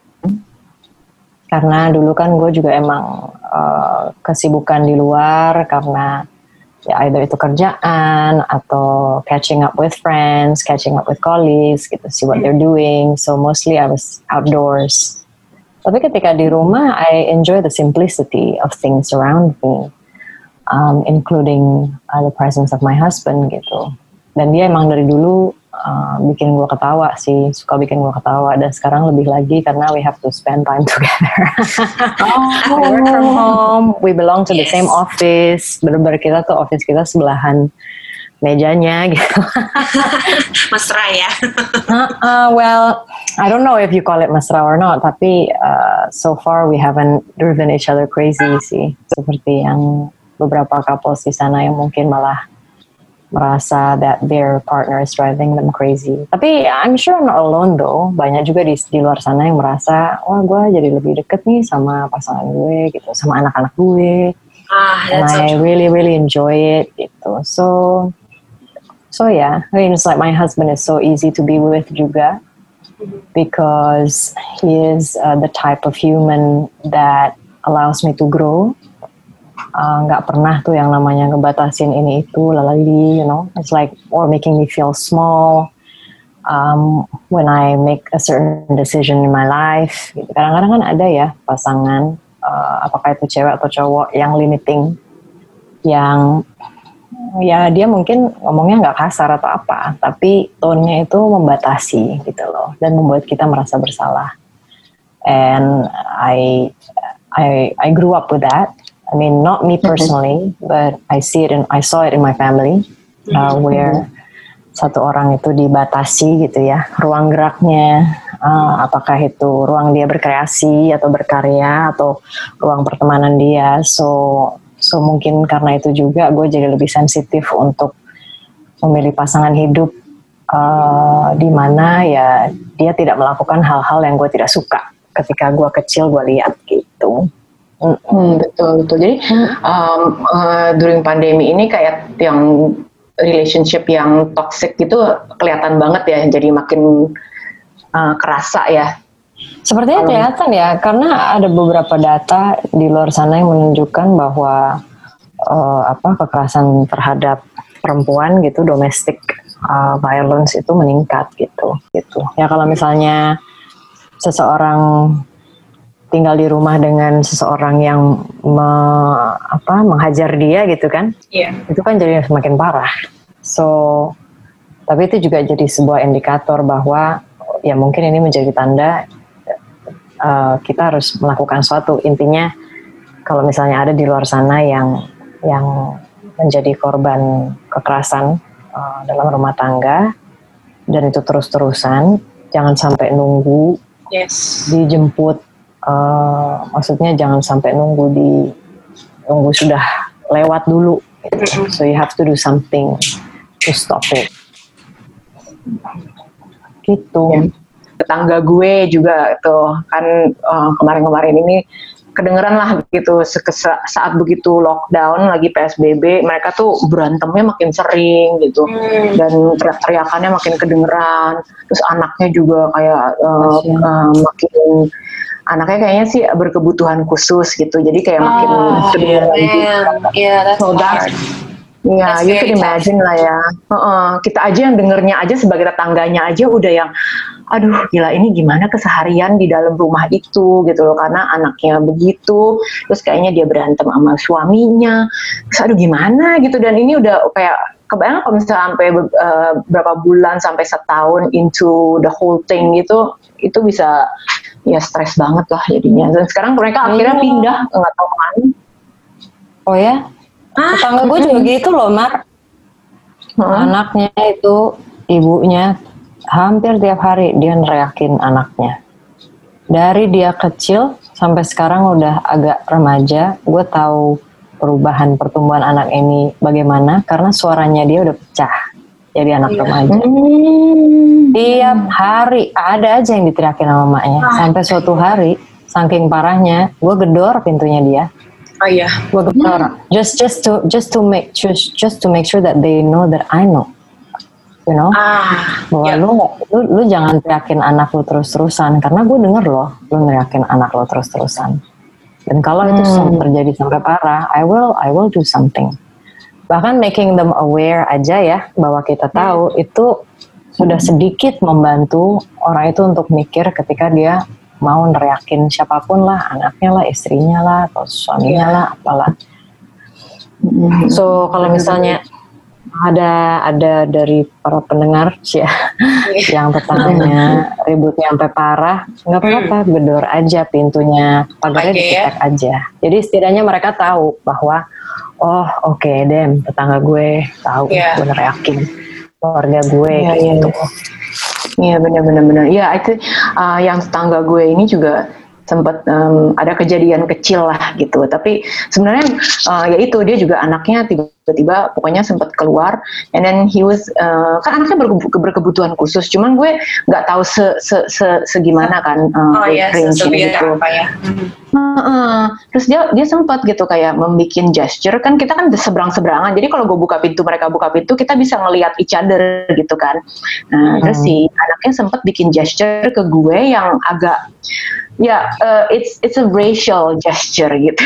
Karena dulu kan gue juga emang uh, kesibukan di luar karena ya either itu kerjaan atau catching up with friends, catching up with colleagues gitu, see what they're doing. So mostly I was outdoors. Tapi ketika di rumah, I enjoy the simplicity of things around me, um, including uh, the presence of my husband gitu. Dan dia emang dari dulu uh, bikin gue ketawa sih, suka bikin gue ketawa. Dan sekarang lebih lagi karena we have to spend time together. We work from home, we belong to the Yes. same office. Bener-bener kita tuh office kita sebelahan mejanya gitu. Mesra ya. uh, uh, well, I don't know if you call it mesra or not, tapi uh, so far we haven't driven each other crazy sih. Seperti yang beberapa couples di sana yang mungkin malah merasa that their partner is driving them crazy. Tapi I'm sure I'm not alone though. Banyak juga di, di luar sana yang merasa, wah gue jadi lebih deket nih sama pasangan gue gitu, sama anak-anak gue. Ah, And that's so I true. really really enjoy it gitu. So, so yeah, I mean it's like my husband is so easy to be with juga, because he is uh, the type of human that allows me to grow. Nggak uh, pernah tuh yang namanya ngebatasin ini itu lalali, you know, it's like, or making me feel small um, when I make a certain decision in my life gitu. Kadang-kadang kan ada ya pasangan, uh, apakah itu cewek atau cowok, yang limiting, yang ya dia mungkin ngomongnya nggak kasar atau apa, tapi tone-nya itu membatasi gitu loh, dan membuat kita merasa bersalah. And I I I grew up with that. I mean, not me personally, but I see it and I saw it in my family, uh, where satu orang itu dibatasi gitu ya, ruang geraknya, uh, apakah itu ruang dia berkreasi atau berkarya atau ruang pertemanan dia. So, so mungkin karena itu juga gue jadi lebih sensitif untuk memilih pasangan hidup uh, di mana ya dia tidak melakukan hal-hal yang gue tidak suka ketika gue kecil gue lihat gitu. Hmm, betul betul. Jadi um, uh, during pandemi ini kayak yang relationship yang toxic gitu kelihatan banget ya. Jadi makin uh, kerasa ya. Sepertinya kelihatan ya, karena ada beberapa data di luar sana yang menunjukkan bahwa uh, apa kekerasan terhadap perempuan gitu, domestic uh, violence itu meningkat gitu, gitu. Ya kalau misalnya seseorang tinggal di rumah dengan seseorang yang me, apa menghajar dia gitu kan, yeah. itu kan jadi semakin parah. So, tapi itu juga jadi sebuah indikator bahwa ya mungkin ini menjadi tanda uh, kita harus melakukan sesuatu. Intinya kalau misalnya ada di luar sana yang yang menjadi korban kekerasan uh, dalam rumah tangga dan itu terus-terusan, jangan sampai nunggu yes. dijemput. Uh, maksudnya jangan sampai nunggu di nunggu sudah lewat dulu gitu. So you have to do something to stop it gitu. Ya. Tetangga gue juga tuh kan uh, kemarin-kemarin ini kedengeran lah gitu saat begitu lockdown lagi P S B B mereka tuh berantemnya makin sering gitu hmm. dan teriak-teriakannya makin kedengeran, terus anaknya juga kayak uh, uh, makin anaknya kayaknya sih berkebutuhan khusus gitu, jadi kayak oh, makin kedengeran yeah, gitu. Yeah, that's so hard. Ya, you can imagine lah ya. Uh-uh. Kita aja yang dengernya aja sebagai tetangganya aja udah yang, aduh gila ini gimana keseharian di dalam rumah itu gitu loh, karena anaknya begitu, terus kayaknya dia berantem sama suaminya, terus aduh gimana gitu, dan ini udah kayak kebayang kalau misalnya sampai uh, berapa bulan sampai setahun into the whole thing gitu, itu bisa ya stres banget lah jadinya. Dan sekarang mereka akhirnya oh. pindah nggak tahu kemana. Oh ya? Ah, tetangga gue juga gitu loh, Mar. Hmm. Anaknya itu, ibunya hampir tiap hari dia neriakin anaknya. Dari dia kecil sampai sekarang udah agak remaja, gue tahu perubahan pertumbuhan anak ini bagaimana karena suaranya dia udah pecah jadi anak iya. remaja. Hmm. Tiap hari ada aja yang diteriakin sama mamanya. Ah. Sampai suatu hari, saking parahnya, gue gedor pintunya dia. Oh iya, gue gedor. Just just to just to make just just to make sure that they know that I know. You know, ah, bahwa yeah. lu, lu lu jangan teriakin anak lu terus-terusan karena gue denger loh, lu neriakin anak lu terus-terusan. Dan kalau hmm. itu terjadi sampai parah, I will I will do something. Bahkan making them aware aja ya bahwa kita tahu hmm. itu sudah sedikit membantu orang itu untuk mikir ketika dia mau neriakin siapapun lah, anaknya lah, istrinya lah, atau suaminya yeah. lah, apalah. Hmm. So kalau misalnya ada ada dari para pendengar ya yang tetangganya ributnya sampai parah, nggak apa-apa, hmm. gedor aja pintunya, pagarnya okay, diketek ya? aja. Jadi setidaknya mereka tahu bahwa oh oke okay, dem tetangga gue tahu yeah. gue neriakin keluarga gue yeah, gitu. Iya yeah, benar-benar benar. Iya itu uh, yang tetangga gue ini juga sempat um, ada kejadian kecil lah gitu, tapi sebenarnya uh, ya itu dia juga anaknya tiba-tiba pokoknya sempat keluar, and then he was uh, kan anaknya berke- berkebutuhan khusus, cuman gue nggak tahu se, se, se, segimana kan uh, oh, iya, range-nya gitu. Apa ya? Uh, uh, terus dia dia sempat gitu kayak membikin gesture, kan kita kan seberang-seberangan, jadi kalau gue buka pintu mereka buka pintu kita bisa ngelihat each other gitu kan. Nah hmm. terus si anaknya sempat bikin gesture ke gue yang agak ya uh, it's it's a racial gesture gitu.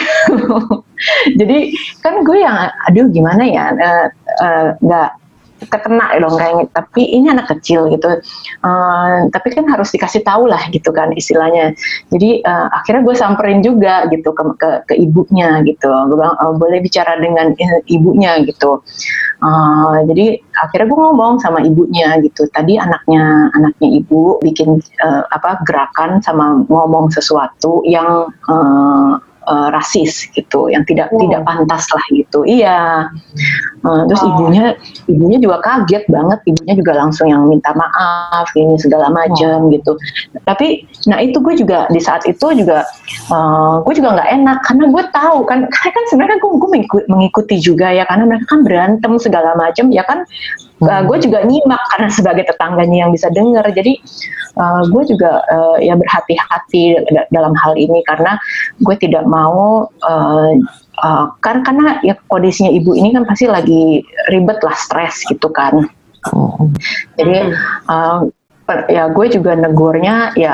Jadi kan gue yang aduh gimana ya nggak uh, uh, ketena dong kayaknya, tapi ini anak kecil gitu, uh, tapi kan harus dikasih tahu lah gitu kan istilahnya. Jadi uh, akhirnya gue samperin juga gitu ke ke, ke ibunya gitu, gue bilang uh, boleh bicara dengan ibunya gitu. Uh, jadi akhirnya gue ngomong sama ibunya gitu, tadi anaknya anaknya ibu bikin uh, apa gerakan sama ngomong sesuatu yang uh, Uh, rasis gitu, yang tidak oh. tidak pantas lah gitu. Iya. Uh, terus oh. ibunya ibunya juga kaget banget. Ibunya juga langsung yang minta maaf ini segala macam oh. gitu. Tapi nah itu gue juga di saat itu juga uh, gue juga nggak enak karena gue tahu kan karena kan sebenarnya gue, gue mengikuti juga ya karena mereka kan berantem segala macam ya kan. Hmm. Uh, gue juga nyimak karena sebagai tetangganya yang bisa dengar. Jadi uh, gue juga uh, ya berhati-hati dalam hal ini karena gue tidak mau uh, uh, kan karena ya kondisinya ibu ini kan pasti lagi ribet lah, stres gitu kan. Hmm. Jadi uh, ya gue juga negurnya ya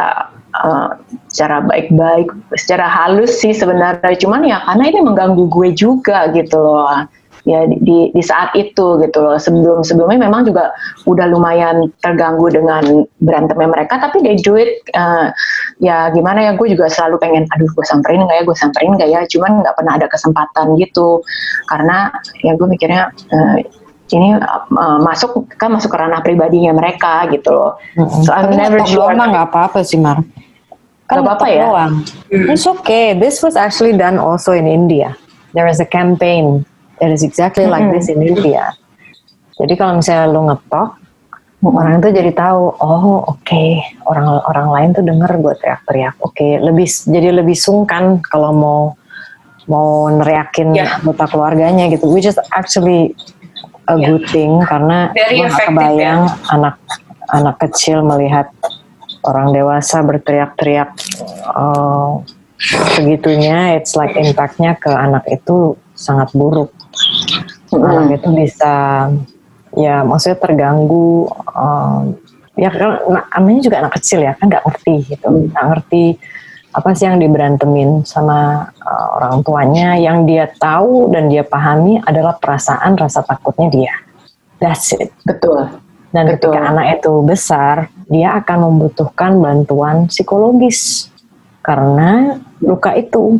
uh, secara baik-baik, secara halus sih sebenarnya. Cuman ya karena ini mengganggu gue juga gitu loh. Ya di, di, di saat itu gitu loh. Sebelum sebelumnya memang juga udah lumayan terganggu dengan berantemnya mereka, tapi they do it uh, ya gimana ya, gue juga selalu pengen aduh gue samperin nggak ya gue samperin nggak ya, cuman nggak pernah ada kesempatan gitu karena ya gue mikirnya uh, ini uh, masuk kan masuk ke ranah pribadinya mereka gitu loh. Mm-hmm. So I'm tapi never sure. Tapi nggak apa-apa sih Mar. Kan nggak apa-apa ya. Mm. It's okay. This was actually done also in India. There is a campaign that is exactly like mm-hmm. this in India. Jadi kalau misalnya lu ngetok, mm-hmm. orang itu jadi tahu, oh oke, okay, orang-orang lain tuh denger gue teriak-teriak. Oke, okay, lebih jadi lebih sungkan kalau mau mau neriakin yeah. anggota keluarganya gitu. Which is actually a yeah. good thing karena gue gak kebayang ya. anak anak kecil melihat orang dewasa berteriak-teriak uh, segitunya. It's like impactnya ke anak itu sangat buruk. Mm-hmm. Anak itu bisa ya maksudnya terganggu um, ya kan namanya juga anak kecil ya kan nggak ngerti gitu nggak mm-hmm. ngerti apa sih yang diberantemin sama uh, orang tuanya. Yang dia tahu dan dia pahami adalah perasaan rasa takutnya dia. That's it. Betul. Dan Betul. ketika anak itu besar dia akan membutuhkan bantuan psikologis karena luka itu.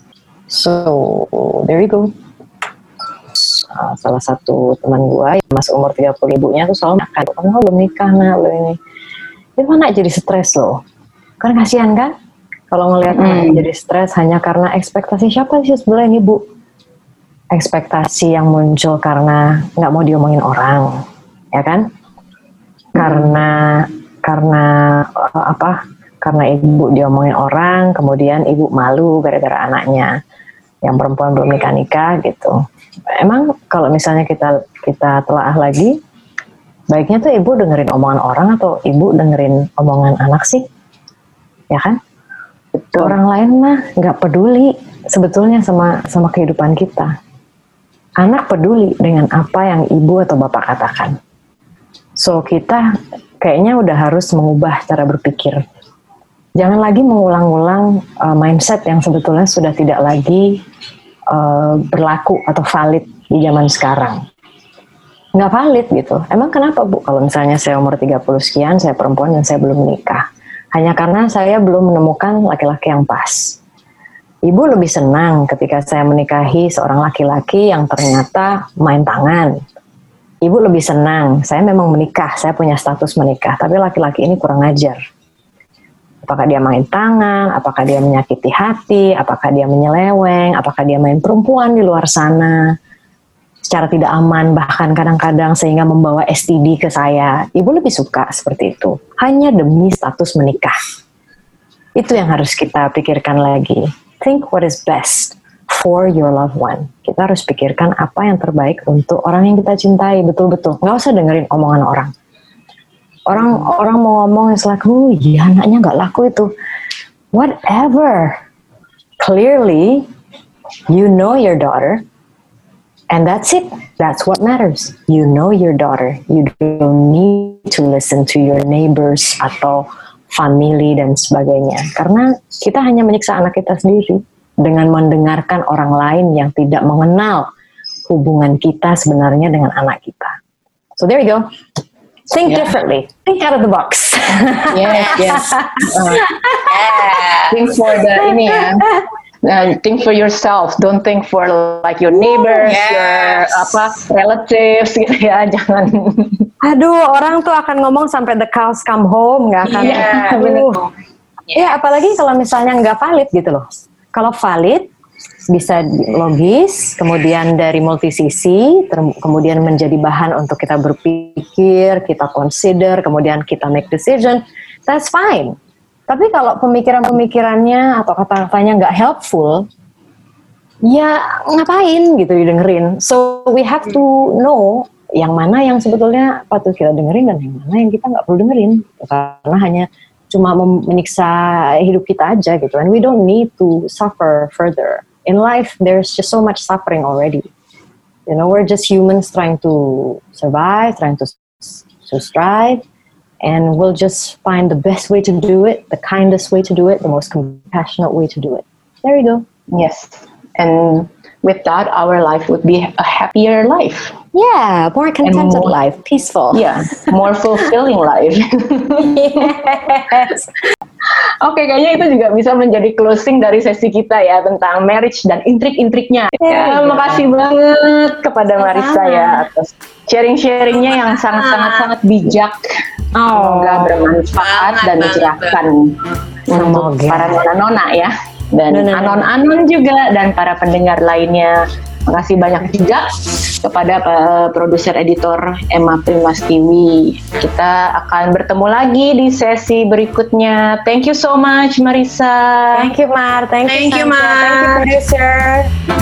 So there you go. Uh, salah satu teman gue yang masuk umur tiga puluh, ibunya tuh selalu makan, kamu belum nikah nak, lo ini itu anak jadi stres loh, kan kasihan kan kalau ngelihat hmm. anak jadi stres hanya karena ekspektasi siapa sih sebenarnya ibu, ekspektasi yang muncul karena nggak mau diomongin orang, ya kan, hmm. karena karena uh, apa karena ibu diomongin orang, kemudian ibu malu gara-gara anaknya yang perempuan belum nikah-nikah gitu. Emang kalau misalnya kita kita telaah lagi, baiknya tuh ibu dengerin omongan orang atau ibu dengerin omongan anak sih, ya kan? Betul. Orang lain mah nggak peduli sebetulnya sama sama kehidupan kita. Anak peduli dengan apa yang ibu atau bapak katakan. So kita kayaknya udah harus mengubah cara berpikir. Jangan lagi mengulang-ulang uh, mindset yang sebetulnya sudah tidak lagi Uh, berlaku atau valid di zaman sekarang. Nggak valid gitu. Emang kenapa Bu? Kalau misalnya saya umur tiga puluh sekian, saya perempuan dan saya belum menikah. Hanya karena saya belum menemukan laki-laki yang pas. Ibu lebih senang ketika saya menikahi seorang laki-laki yang ternyata main tangan. Ibu lebih senang, saya memang menikah, saya punya status menikah, tapi laki-laki ini kurang ajar. Apakah dia main tangan, apakah dia menyakiti hati, apakah dia menyeleweng, apakah dia main perempuan di luar sana secara tidak aman, bahkan kadang-kadang sehingga membawa S T D ke saya. Ibu lebih suka seperti itu, hanya demi status menikah. Itu yang harus kita pikirkan lagi. Think what is best for your loved one. Kita harus pikirkan apa yang terbaik untuk orang yang kita cintai, betul-betul. Nggak usah dengerin omongan orang. Orang orang mau ngomong is like, oh iya anaknya nggak laku itu. Whatever. Clearly, you know your daughter, and that's it. That's what matters. You know your daughter. You don't need to listen to your neighbors atau family dan sebagainya. Karena kita hanya menyiksa anak kita sendiri dengan mendengarkan orang lain yang tidak mengenal hubungan kita sebenarnya dengan anak kita. So there you go. Think yeah. differently. Think out of the box. Yes, yes. Uh, yeah. Think for the ini ya. Uh, think for yourself. Don't think for like your neighbors, yes. your apa relatives gitu ya. Jangan. Aduh, orang tuh akan ngomong sampai the cows come home, nggak akan. Yeah, Aduh. Ya, yeah, apalagi kalau misalnya nggak valid gitu loh. Kalau valid bisa logis, kemudian dari multisisi, ter- kemudian menjadi bahan untuk kita berpikir, kita consider, kemudian kita make decision, that's fine. Tapi kalau pemikiran-pemikirannya atau kata-katanya nggak helpful, ya ngapain gitu didengerin. So we have to know yang mana yang sebetulnya patut kita dengerin dan yang mana yang kita nggak perlu dengerin. Karena hanya cuma menyiksa hidup kita aja gitu. And we don't need to suffer further. In life, there's just so much suffering already. You know, we're just humans trying to survive, trying to, to strive. and we'll just find the best way to do it, the kindest way to do it, the most compassionate way to do it. There you go. Yes, and with that, our life would be a happier life. Yeah, more contented more, life, peaceful. Yeah, more fulfilling life. Yes. Oke, kayaknya itu juga bisa menjadi closing dari sesi kita ya tentang marriage dan intrik-intriknya. Ya, ya, makasih banget kepada Sama-sama. Marissa ya atas sharing-sharingnya yang sangat-sangat-sangat bijak. Semoga bermanfaat Banget, dan banget, mencerahkan untuk Semoga. para nona-nona ya. Dan Nona-nona. anon-anon juga dan para pendengar lainnya. Makasih banyak juga kepada uh, produser editor Emma Primastiwi. Kita akan bertemu lagi di sesi berikutnya. Thank you so much, Marissa. Thank you, Mar. Thank, Thank you, you, Sandra. Mar. Thank you, producer.